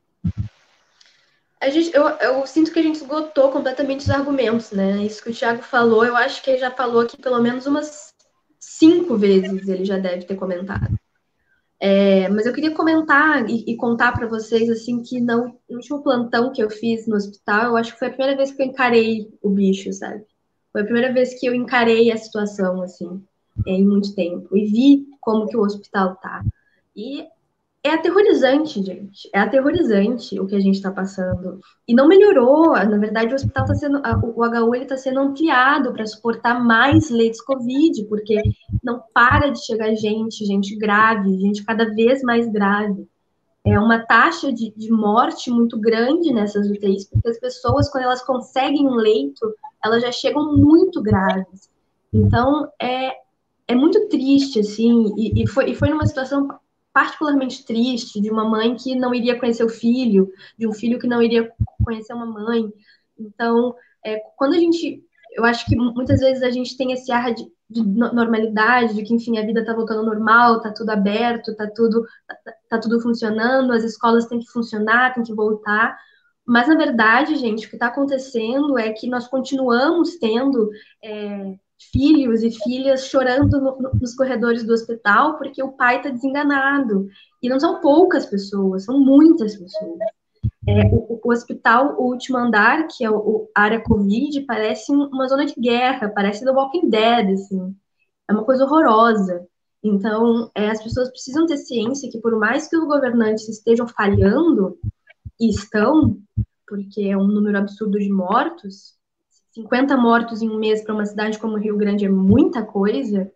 Eu sinto que a gente esgotou completamente os argumentos, né? Isso que o Thiago falou, eu acho que ele já falou aqui pelo menos umas 5 vezes, ele já deve ter comentado. Mas eu queria comentar e contar para vocês, assim, que no último plantão que eu fiz no hospital, eu acho que foi a primeira vez que eu encarei o bicho, sabe? Foi a primeira vez que eu encarei a situação, assim, em muito tempo. E vi como que o hospital tá. E é aterrorizante, gente. É aterrorizante o que a gente está passando. E não melhorou. Na verdade, o hospital está sendo. O HU está sendo ampliado para suportar mais leitos Covid, porque não para de chegar gente grave, gente cada vez mais grave. É uma taxa de morte muito grande nessas UTIs, porque as pessoas, quando elas conseguem um leito, elas já chegam muito graves. Então, é muito triste, assim, e foi numa situação particularmente triste de uma mãe que não iria conhecer o filho, de um filho que não iria conhecer uma mãe. Então, quando eu acho que muitas vezes a gente tem esse ar de normalidade, de que, enfim, a vida está voltando ao normal, está tudo aberto, está tudo funcionando, as escolas têm que funcionar, têm que voltar. Mas, na verdade, gente, o que está acontecendo é que nós continuamos tendo filhos e filhas chorando nos corredores do hospital porque o pai está desenganado. E não são poucas pessoas, são muitas pessoas. O hospital, o último andar, que é a área Covid, parece uma zona de guerra, parece The Walking Dead, assim. É uma coisa horrorosa. Então, as pessoas precisam ter ciência que, por mais que os governantes estejam falhando, e estão, porque é um número absurdo de mortos, 50 mortos em um mês para uma cidade como Rio Grande é muita coisa,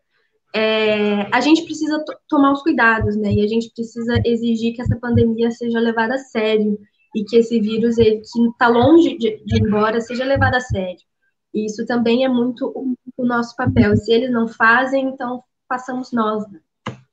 a gente precisa tomar os cuidados, né? E a gente precisa exigir que essa pandemia seja levada a sério e que esse vírus, que está longe de ir embora, seja levado a sério. E isso também é muito o nosso papel. Se eles não fazem, então façamos nós, né?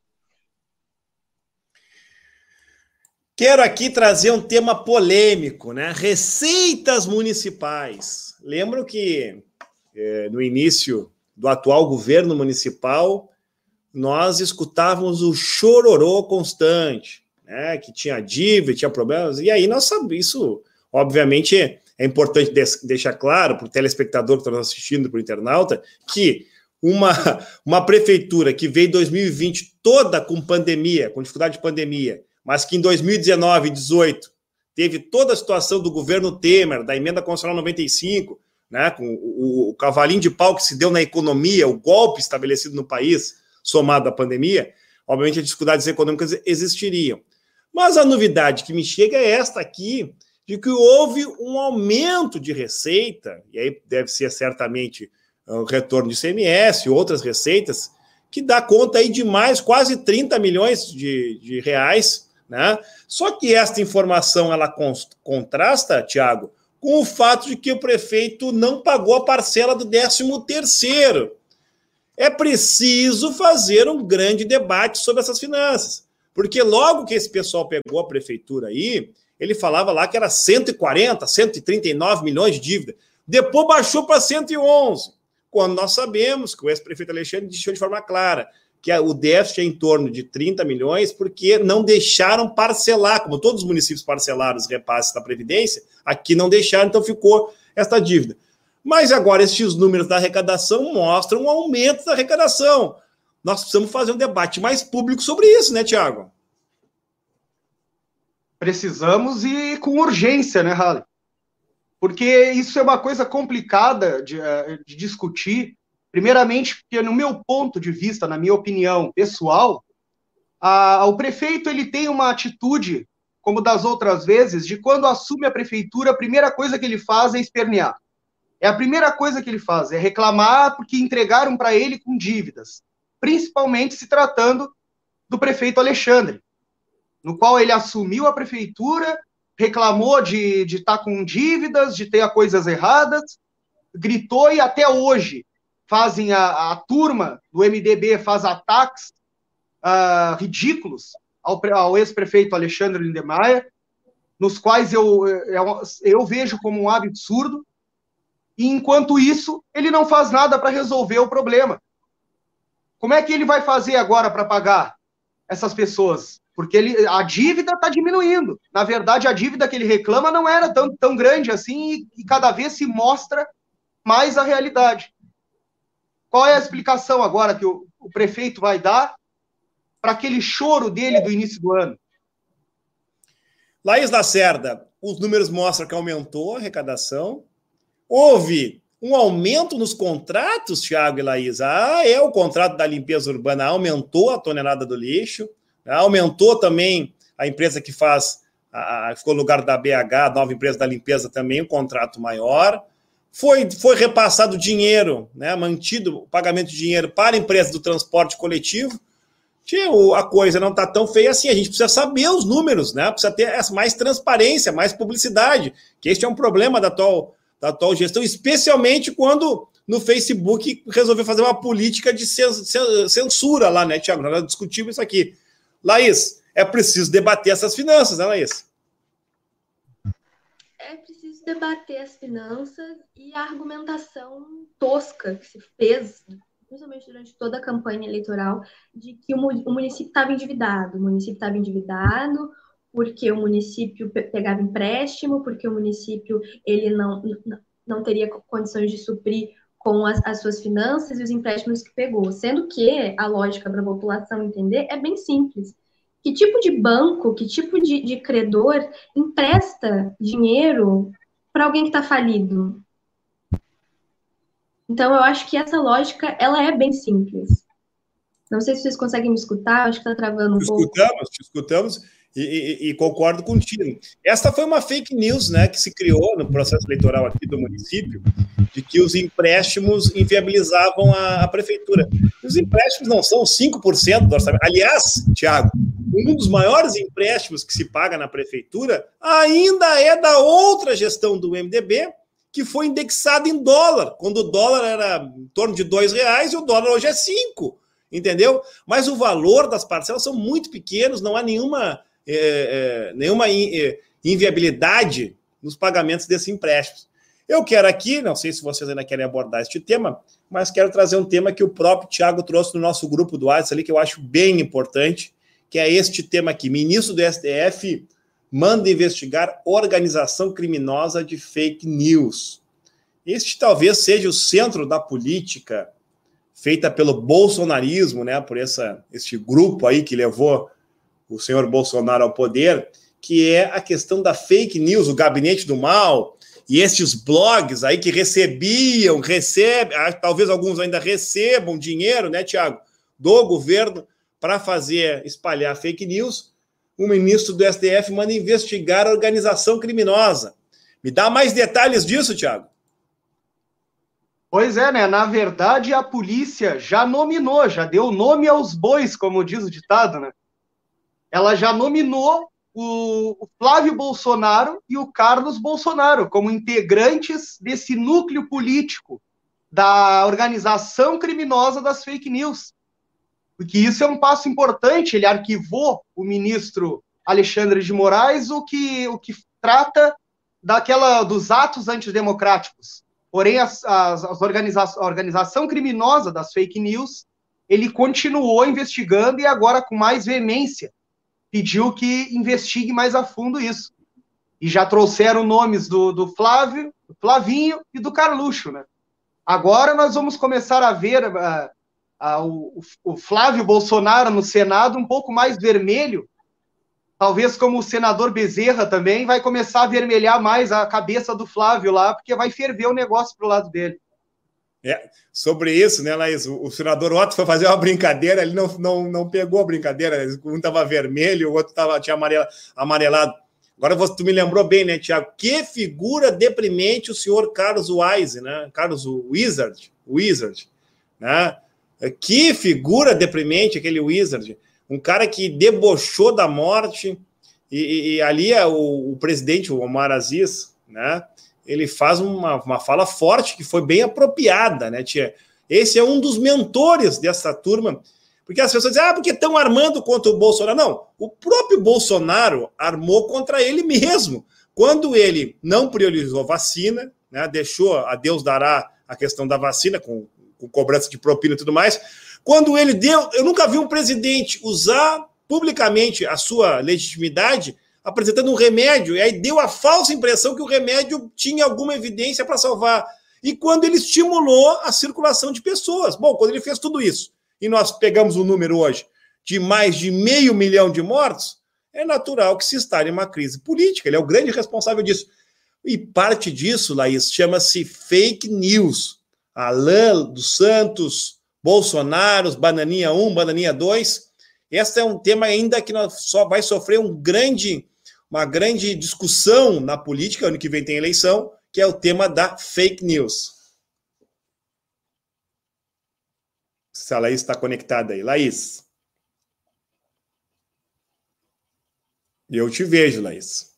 Quero aqui trazer um tema polêmico, né? Receitas municipais. Lembro que no início do atual governo municipal, nós escutávamos o chororô constante, né? Que tinha dívida, tinha problemas, e aí nós sabemos, isso obviamente é importante deixar claro para o telespectador que está nos assistindo, para o internauta, que uma prefeitura que veio em 2020 toda com pandemia, com dificuldade de pandemia, mas que em 2019 e 2018 teve toda a situação do governo Temer, da emenda constitucional 95, né, com o cavalinho de pau que se deu na economia, o golpe estabelecido no país, somado à pandemia, obviamente as dificuldades econômicas existiriam. Mas a novidade que me chega é esta aqui, de que houve um aumento de receita, e aí deve ser certamente o retorno de ICMS, outras receitas, que dá conta aí de mais quase 30 milhões de reais, né? Só que esta informação ela contrasta, Tiago, com o fato de que o prefeito não pagou a parcela do 13º. É preciso fazer um grande debate sobre essas finanças, porque logo que esse pessoal pegou a prefeitura aí, ele falava lá que era 140, 139 milhões de dívida. Depois baixou para 111, quando nós sabemos que o ex-prefeito Alexandre deixou de forma clara que o déficit é em torno de 30 milhões, porque não deixaram parcelar, como todos os municípios parcelaram os repasses da Previdência, aqui não deixaram, então ficou esta dívida. Mas agora estes números da arrecadação mostram um aumento da arrecadação. Nós precisamos fazer um debate mais público sobre isso, né, Tiago?
Precisamos e com urgência, né, Halley? Porque isso é uma coisa complicada de discutir. Primeiramente, porque no meu ponto de vista, na minha opinião pessoal, o prefeito ele tem uma atitude, como das outras vezes, de quando assume a prefeitura, a primeira coisa que ele faz é espernear. É a primeira coisa que ele faz, é reclamar porque entregaram para ele com dívidas, principalmente se tratando do prefeito Alexandre, no qual ele assumiu a prefeitura, reclamou de estar com dívidas, de ter coisas erradas, gritou e até hoje fazem a turma do MDB faz ataques ridículos ao ex-prefeito Alexandre Lindemeyer, nos quais eu vejo como um absurdo, e enquanto isso, ele não faz nada para resolver o problema. como é que ele vai fazer agora para pagar essas pessoas? Porque a dívida está diminuindo. Na verdade, a dívida que ele reclama não era tão grande assim e cada vez se mostra mais a realidade. Qual é a explicação agora que o prefeito vai dar para aquele choro dele do início do ano?
Laís Lacerda, os números mostram que aumentou a arrecadação. Houve um aumento nos contratos, Thiago e Laís. O contrato da limpeza urbana aumentou a tonelada do lixo, aumentou também a empresa que faz, ficou no lugar da BH, a nova empresa da limpeza também, um contrato maior. Foi repassado dinheiro, né, mantido o pagamento de dinheiro para a empresa do transporte coletivo. A coisa não está tão feia assim, a gente precisa saber os números, né? Precisa ter mais transparência, mais publicidade, que este é um problema da atual gestão, especialmente quando no Facebook resolveu fazer uma política de censura lá, né, Thiago? Nós discutimos isso aqui. Laís, é preciso debater essas finanças, né, Laís?
É preciso debater as finanças e a argumentação tosca que se fez, principalmente durante toda a campanha eleitoral, de que o município estava endividado. O município estava endividado porque o município pegava empréstimo, porque o município ele não teria condições de suprir com as suas finanças e os empréstimos que pegou. Sendo que a lógica para a população entender é bem simples. Que tipo de banco, que tipo de credor empresta dinheiro para alguém que está falido? Então, eu acho que essa lógica, ela é bem simples. Não sei se vocês conseguem me escutar, acho que está travando um pouco.
Te escutamos e concordo contigo. Esta foi uma fake news, né, que se criou no processo eleitoral aqui do município, de que os empréstimos inviabilizavam a prefeitura. Os empréstimos não são 5% do orçamento. Aliás, Thiago, um dos maiores empréstimos que se paga na prefeitura ainda é da outra gestão do MDB, que foi indexado em dólar, quando o dólar era em torno de R$2 e o dólar hoje é 5, entendeu? Mas o valor das parcelas são muito pequenos, não há nenhuma inviabilidade nos pagamentos desses empréstimos. Eu quero aqui, não sei se vocês ainda querem abordar este tema, mas quero trazer um tema que o próprio Thiago trouxe no nosso grupo do WhatsApp ali, que eu acho bem importante, que é este tema aqui. Ministro do STF manda investigar organização criminosa de fake news. Este talvez seja o centro da política feita pelo bolsonarismo, né, por este grupo aí que levou o senhor Bolsonaro ao poder, que é a questão da fake news, o gabinete do mal, e esses blogs aí que recebem, talvez alguns ainda recebam dinheiro, né, Thiago, do governo para espalhar fake news. O ministro do STF manda investigar a organização criminosa. Me dá mais detalhes disso, Thiago?
Pois é, né? Na verdade, a polícia já nominou, já deu nome aos bois, como diz o ditado, né? Ela já nominou o Flávio Bolsonaro e o Carlos Bolsonaro como integrantes desse núcleo político da organização criminosa das fake news. Porque isso é um passo importante. Ele arquivou o ministro Alexandre de Moraes, o que trata dos atos antidemocráticos. Porém, a organização criminosa das fake news, ele continuou investigando e agora, com mais veemência, pediu que investigue mais a fundo isso. E já trouxeram nomes do Flávio, do Flavinho e do Carluxo, né? Agora nós vamos começar a ver o Flávio Bolsonaro no Senado um pouco mais vermelho, talvez como o senador Bezerra também, vai começar a vermelhar mais a cabeça do Flávio lá, porque vai ferver o negócio pro lado dele.
Sobre isso, né, Laís, o senador Otto foi fazer uma brincadeira, ele não pegou a brincadeira, um estava vermelho, o outro tinha amarelado. Agora tu me lembrou bem, né, Thiago? Que figura deprimente o senhor Carlos Wise, né? Carlos Wizard, né? Que figura deprimente aquele Wizard. Um cara que debochou da morte, e ali o presidente, o Omar Aziz, né? Ele faz uma fala forte que foi bem apropriada, né, tia? Esse é um dos mentores dessa turma, porque as pessoas dizem, porque estão armando contra o Bolsonaro. Não, o próprio Bolsonaro armou contra ele mesmo. Quando ele não priorizou vacina, né, deixou a Deus dará a questão da vacina, com cobrança de propina e tudo mais, Quando ele deu, eu nunca vi um presidente usar publicamente a sua legitimidade apresentando um remédio, e aí deu a falsa impressão que o remédio tinha alguma evidência para salvar. E quando ele estimulou a circulação de pessoas. Bom, quando ele fez tudo isso, e nós pegamos o número hoje de mais de 500 mil de mortos, é natural que se instale uma crise política. Ele é o grande responsável disso. E parte disso, Laís, chama-se fake news. Alan dos Santos, Bolsonaro, Bananinha 1, Bananinha 2. Esse é um tema ainda que só vai sofrer uma grande discussão na política, ano que vem tem eleição, que é o tema da fake news. Se a Laís está conectada aí. Laís. Eu te vejo, Laís.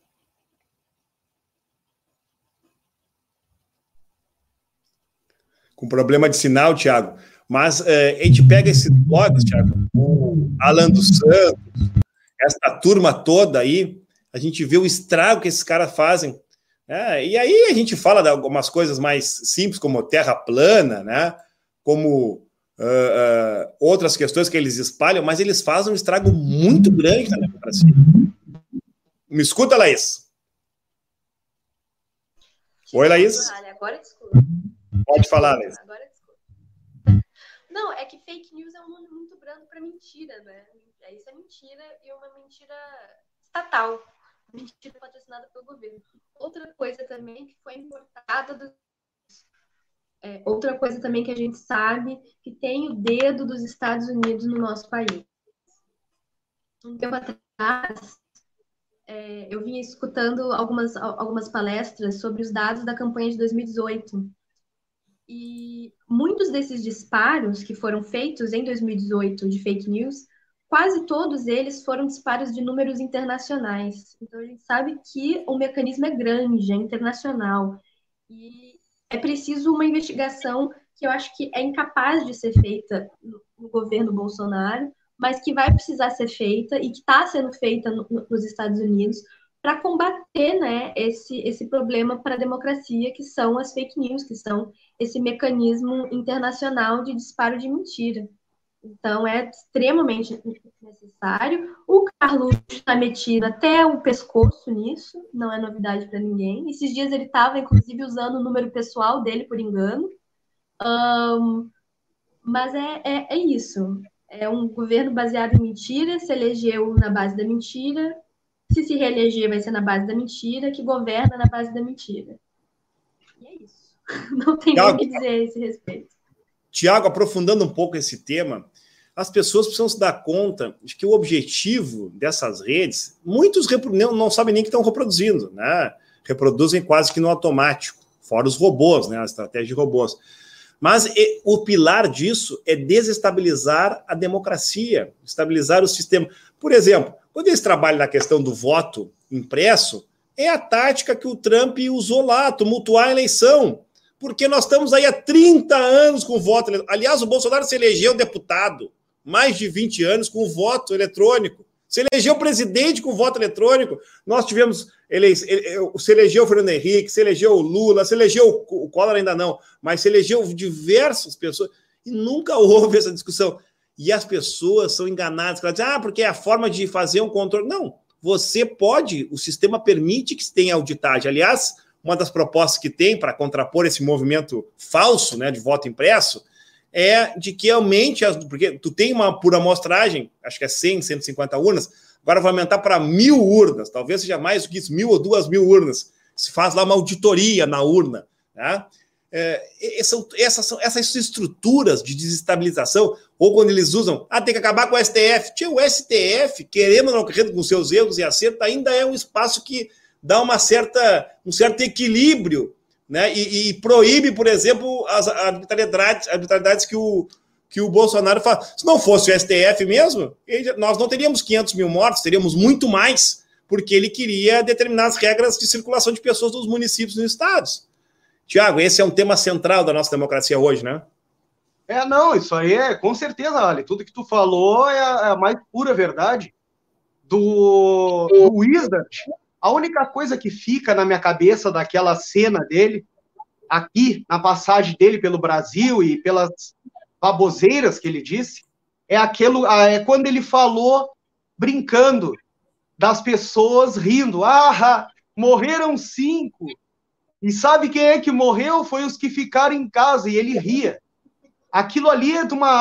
Com problema de sinal, Thiago. Mas a gente pega esses blogs, Thiago, o Alan dos Santos, essa turma toda aí, a gente vê o estrago que esses caras fazem. E aí a gente fala de algumas coisas mais simples, como terra plana, né? Como outras questões que eles espalham, mas eles fazem um estrago muito grande na democracia. Me escuta, Laís? Oi, Laís?
Agora desculpa.
Pode falar, Laís.
Agora desculpa. Não, é que fake news é um nome muito brando para mentira, né? Isso é mentira e uma mentira estatal. Mentira patrocinada pelo governo. Outra coisa também que foi importada outra coisa também que a gente sabe que tem o dedo dos Estados Unidos no nosso país. Um tempo atrás, eu vinha escutando algumas palestras sobre os dados da campanha de 2018. E muitos desses disparos que foram feitos em 2018 de fake news, quase todos eles foram disparos de números internacionais. Então, a gente sabe que o mecanismo é grande, é internacional. E é preciso uma investigação que eu acho que é incapaz de ser feita no governo Bolsonaro, mas que vai precisar ser feita e que está sendo feita nos Estados Unidos para combater, né, esse problema para a democracia, que são as fake news, que são esse mecanismo internacional de disparo de mentira. Então, é extremamente necessário. O Carluxo está metido até o pescoço nisso, não é novidade para ninguém. Esses dias ele estava, inclusive, usando o número pessoal dele por engano. Mas é isso. É um governo baseado em mentira, se elegeu na base da mentira. Se reeleger, vai ser na base da mentira, que governa na base da mentira. E é isso. Não tem nem o que dizer a esse respeito.
Tiago, aprofundando um pouco esse tema, as pessoas precisam se dar conta de que o objetivo dessas redes, muitos não sabem nem que estão reproduzindo, né? Reproduzem quase que no automático, fora os robôs, né? A estratégia de robôs. Mas o pilar disso é desestabilizar a democracia, estabilizar o sistema. Por exemplo, quando eles trabalham na questão do voto impresso, é a tática que o Trump usou lá, tumultuar a eleição. Porque nós estamos aí há 30 anos com o voto. Aliás, o Bolsonaro se elegeu deputado, mais de 20 anos com o voto eletrônico. Se elegeu presidente com o voto eletrônico. Nós tivemos, se elegeu o Fernando Henrique, se elegeu o Lula, se elegeu o Collor ainda não, mas se elegeu diversas pessoas e nunca houve essa discussão. E as pessoas são enganadas, elas dizem, porque é a forma de fazer um controle. Não, você pode, o sistema permite que se tenha auditagem. Aliás, uma das propostas que tem para contrapor esse movimento falso, né, de voto impresso, é de que aumente, porque tu tem uma por amostragem, acho que é 100, 150 urnas, agora vai aumentar para 1.000 urnas, talvez seja mais do que isso, 1.000 ou 2.000 urnas. Se faz lá uma auditoria na urna. Tá? Essas estruturas de desestabilização, ou quando eles usam, tem que acabar com o STF. O STF, querendo ou não querendo, com seus erros e acertos, ainda é um espaço que dá um certo equilíbrio, né? E proíbe, por exemplo, as arbitrariedades que o Bolsonaro faz. Se não fosse o STF mesmo, nós não teríamos 500 mil mortos, teríamos muito mais, porque ele queria determinar as regras de circulação de pessoas nos municípios e nos estados. Tiago, esse é um tema central da nossa democracia hoje, né?
Não, isso aí com certeza, Ali, tudo que tu falou é a mais pura verdade do Wizard. A única coisa que fica na minha cabeça daquela cena dele, aqui, na passagem dele pelo Brasil e pelas baboseiras que ele disse, é quando ele falou, brincando, das pessoas rindo. Ah, morreram 5. E sabe quem é que morreu? Foi os que ficaram em casa, e ele ria. Aquilo ali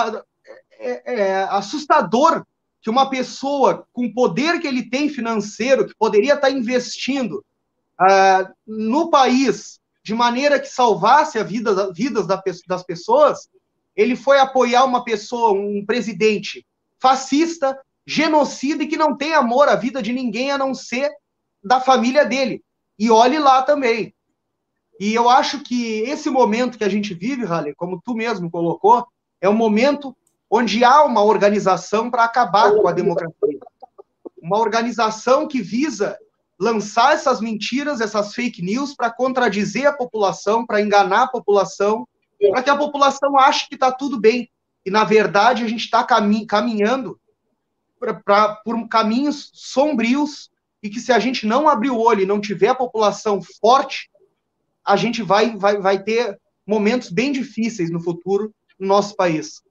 é assustador, que uma pessoa com o poder que ele tem financeiro, que poderia estar investindo no país de maneira que salvasse a vida, vidas das pessoas, ele foi apoiar uma pessoa, um presidente fascista, genocida e que não tem amor à vida de ninguém a não ser da família dele. E olhe lá também. E eu acho que esse momento que a gente vive, Halle, como tu mesmo colocou, é um momento onde há uma organização para acabar com a democracia. Uma organização que visa lançar essas mentiras, essas fake news, para contradizer a população, para enganar a população, para que a população ache que está tudo bem. E, na verdade, a gente está caminhando por caminhos sombrios e que, se a gente não abrir o olho e não tiver a população forte, a gente vai ter momentos bem difíceis no futuro no nosso país.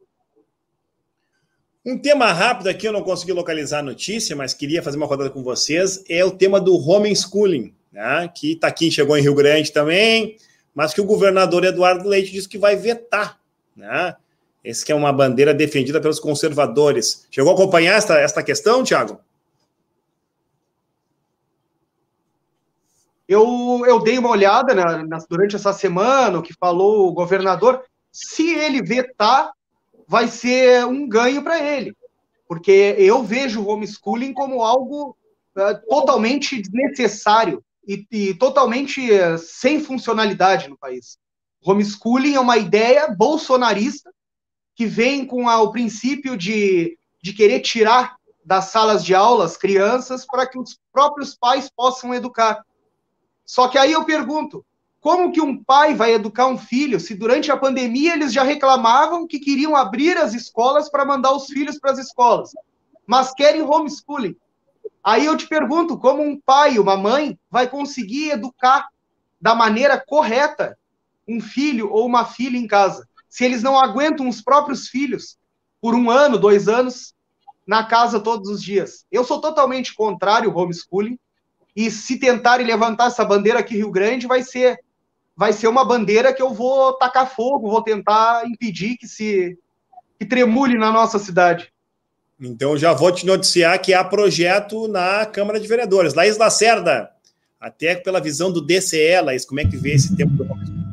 Um tema rápido aqui, eu não consegui localizar a notícia, mas queria fazer uma rodada com vocês, é o tema do homeschooling, né? Que tá aqui, chegou em Rio Grande também, mas que o governador Eduardo Leite disse que vai vetar, né? Esse que é uma bandeira defendida pelos conservadores. Chegou a acompanhar esta questão, Thiago?
Eu dei uma olhada durante essa semana, o que falou o governador. Se ele vetar, vai ser um ganho para ele, porque eu vejo o homeschooling como algo totalmente desnecessário e totalmente sem funcionalidade no país. O homeschooling é uma ideia bolsonarista que vem com o princípio de querer tirar das salas de aula as crianças para que os próprios pais possam educar. Só que aí eu pergunto, como que um pai vai educar um filho se durante a pandemia eles já reclamavam que queriam abrir as escolas para mandar os filhos para as escolas, mas querem homeschooling? Aí eu te pergunto, como um pai, uma mãe, vai conseguir educar da maneira correta um filho ou uma filha em casa, se eles não aguentam os próprios filhos por 1 ano, 2 anos, na casa todos os dias? Eu sou totalmente contrário ao homeschooling, e se tentarem levantar essa bandeira aqui em Rio Grande, vai ser uma bandeira que eu vou tacar fogo, vou tentar impedir que tremule na nossa cidade.
Então, já vou te noticiar que há projeto na Câmara de Vereadores. Laís Lacerda, até pela visão do DCE, Laís, como é que vê esse tempo do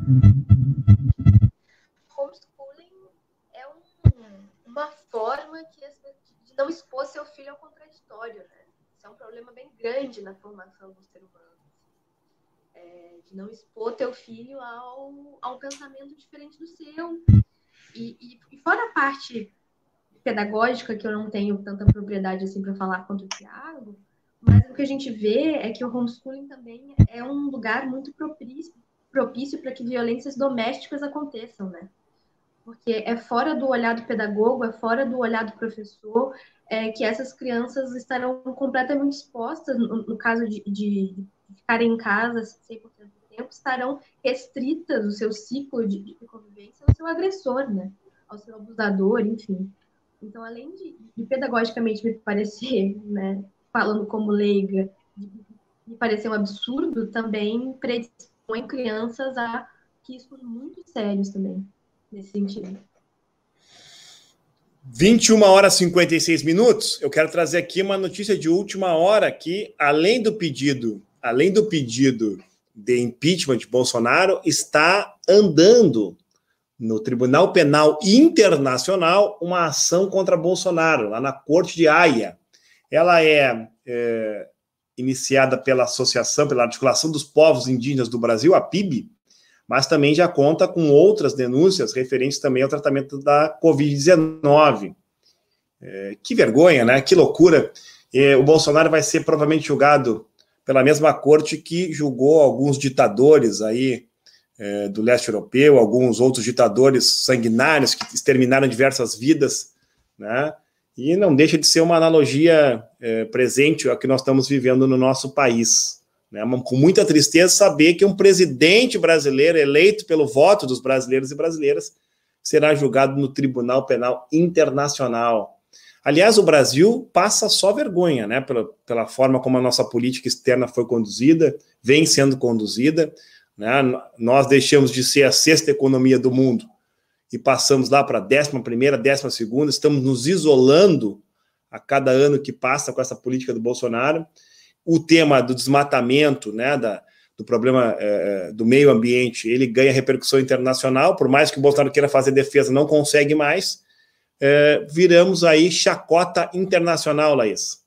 homeschooling? É uma forma de não expor seu filho ao contraditório, né? Isso é um problema bem grande na formação do ser humano. De não expor teu filho a um pensamento diferente do seu. E fora a parte pedagógica, que eu não tenho tanta propriedade assim para falar quanto o Thiago, mas o que a gente vê é que o homeschooling também é um lugar muito propício para que violências domésticas aconteçam, né? Porque é fora do olhar do pedagogo, é fora do olhar do professor, que essas crianças estarão completamente expostas, no caso de ficarem em casa 100% do tempo, estarão restritas o seu ciclo de convivência ao seu agressor, né? Ao seu abusador, enfim. Então, além de pedagogicamente me parecer, né, falando como leiga, me parecer um absurdo, também predispõe crianças a riscos muito sérios também, nesse sentido.
21h56. Eu quero trazer aqui uma notícia de última hora que, além do pedido de impeachment de Bolsonaro, está andando no Tribunal Penal Internacional uma ação contra Bolsonaro, lá na Corte de Haia. Ela é iniciada pela Articulação dos Povos Indígenas do Brasil, a PIB, mas também já conta com outras denúncias referentes também ao tratamento da Covid-19. Que vergonha, né? Que loucura. O Bolsonaro vai ser provavelmente julgado pela mesma corte que julgou alguns ditadores aí do leste europeu, alguns outros ditadores sanguinários que exterminaram diversas vidas, né? E não deixa de ser uma analogia presente ao que nós estamos vivendo no nosso país, né? Com muita tristeza saber que um presidente brasileiro eleito pelo voto dos brasileiros e brasileiras será julgado no Tribunal Penal Internacional. Aliás, o Brasil passa só vergonha, né, pela forma como a nossa política externa foi conduzida, vem sendo conduzida, né? Nós deixamos de ser a 6ª economia do mundo e passamos lá para a 11ª, 12ª, estamos nos isolando a cada ano que passa com essa política do Bolsonaro. O tema do desmatamento, né, do problema do meio ambiente, ele ganha repercussão internacional, por mais que o Bolsonaro queira fazer defesa, não consegue mais. Viramos aí chacota internacional, Laís.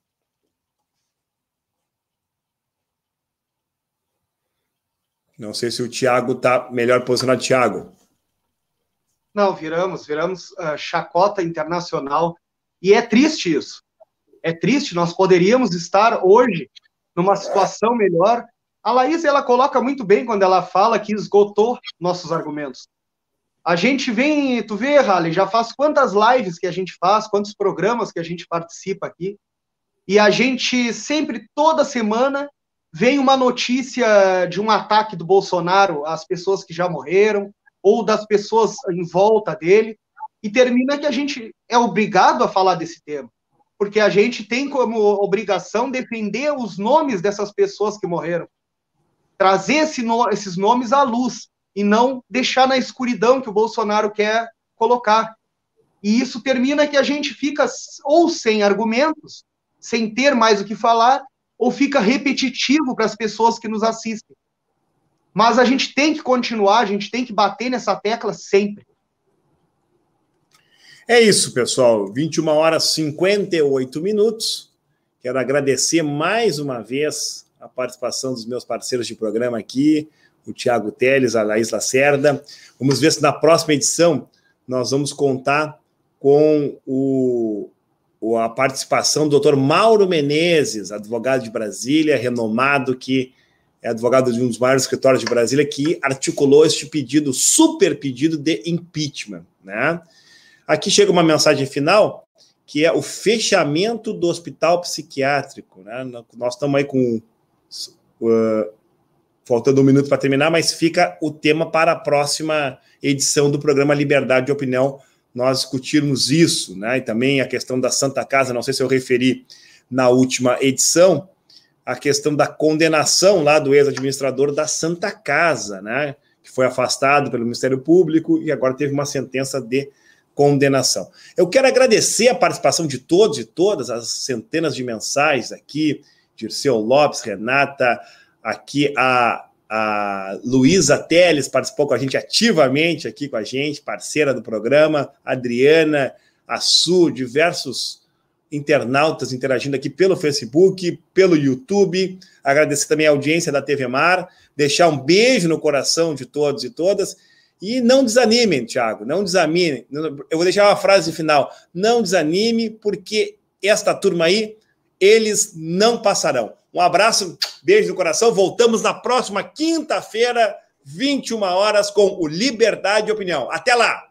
Não sei se o Thiago está melhor posicionado. Thiago.
Não, viramos chacota internacional. E é triste isso. É triste, nós poderíamos estar hoje numa situação melhor. A Laís, ela coloca muito bem quando ela fala que esgotou nossos argumentos. A gente vem, tu vê, Halley, já faz quantas lives que a gente faz, quantos programas que a gente participa aqui, e a gente sempre, toda semana, vem uma notícia de um ataque do Bolsonaro às pessoas que já morreram, ou das pessoas em volta dele, e termina que a gente é obrigado a falar desse tema, porque a gente tem como obrigação defender os nomes dessas pessoas que morreram, trazer esses nomes à luz, e não deixar na escuridão que o Bolsonaro quer colocar. E isso termina que a gente fica ou sem argumentos, sem ter mais o que falar, ou fica repetitivo para as pessoas que nos assistem. Mas a gente tem que continuar, a gente tem que bater nessa tecla sempre.
É isso, pessoal. 21h58. Quero agradecer mais uma vez a participação dos meus parceiros de programa aqui, o Thiago Teles, a Laís Lacerda. Vamos ver se na próxima edição nós vamos contar com a participação do Dr. Mauro Menezes, advogado de Brasília, renomado, que é advogado de um dos maiores escritórios de Brasília, que articulou este pedido, super pedido de impeachment, né? Aqui chega uma mensagem final, que é o fechamento do hospital psiquiátrico, né? Nós estamos aí com... faltando 1 minuto para terminar, mas fica o tema para a próxima edição do programa Liberdade de Opinião, nós discutirmos isso, né? E também a questão da Santa Casa, não sei se eu referi na última edição, a questão da condenação lá do ex-administrador da Santa Casa, né? Que foi afastado pelo Ministério Público e agora teve uma sentença de condenação. Eu quero agradecer a participação de todos e todas, as centenas de mensais aqui, Dirceu Lopes, Renata, aqui a Luísa Teles participou com a gente ativamente aqui com a gente, parceira do programa, Adriana, a Su, diversos internautas interagindo aqui pelo Facebook, pelo YouTube. Agradecer também a audiência da TV Mar, deixar um beijo no coração de todos e todas. E não desanimem, Thiago, não desanimem. Eu vou deixar uma frase final. Não desanime, porque esta turma aí, eles não passarão. Um abraço, beijo no coração. Voltamos na próxima quinta-feira, 21h, com o Liberdade de Opinião. Até lá!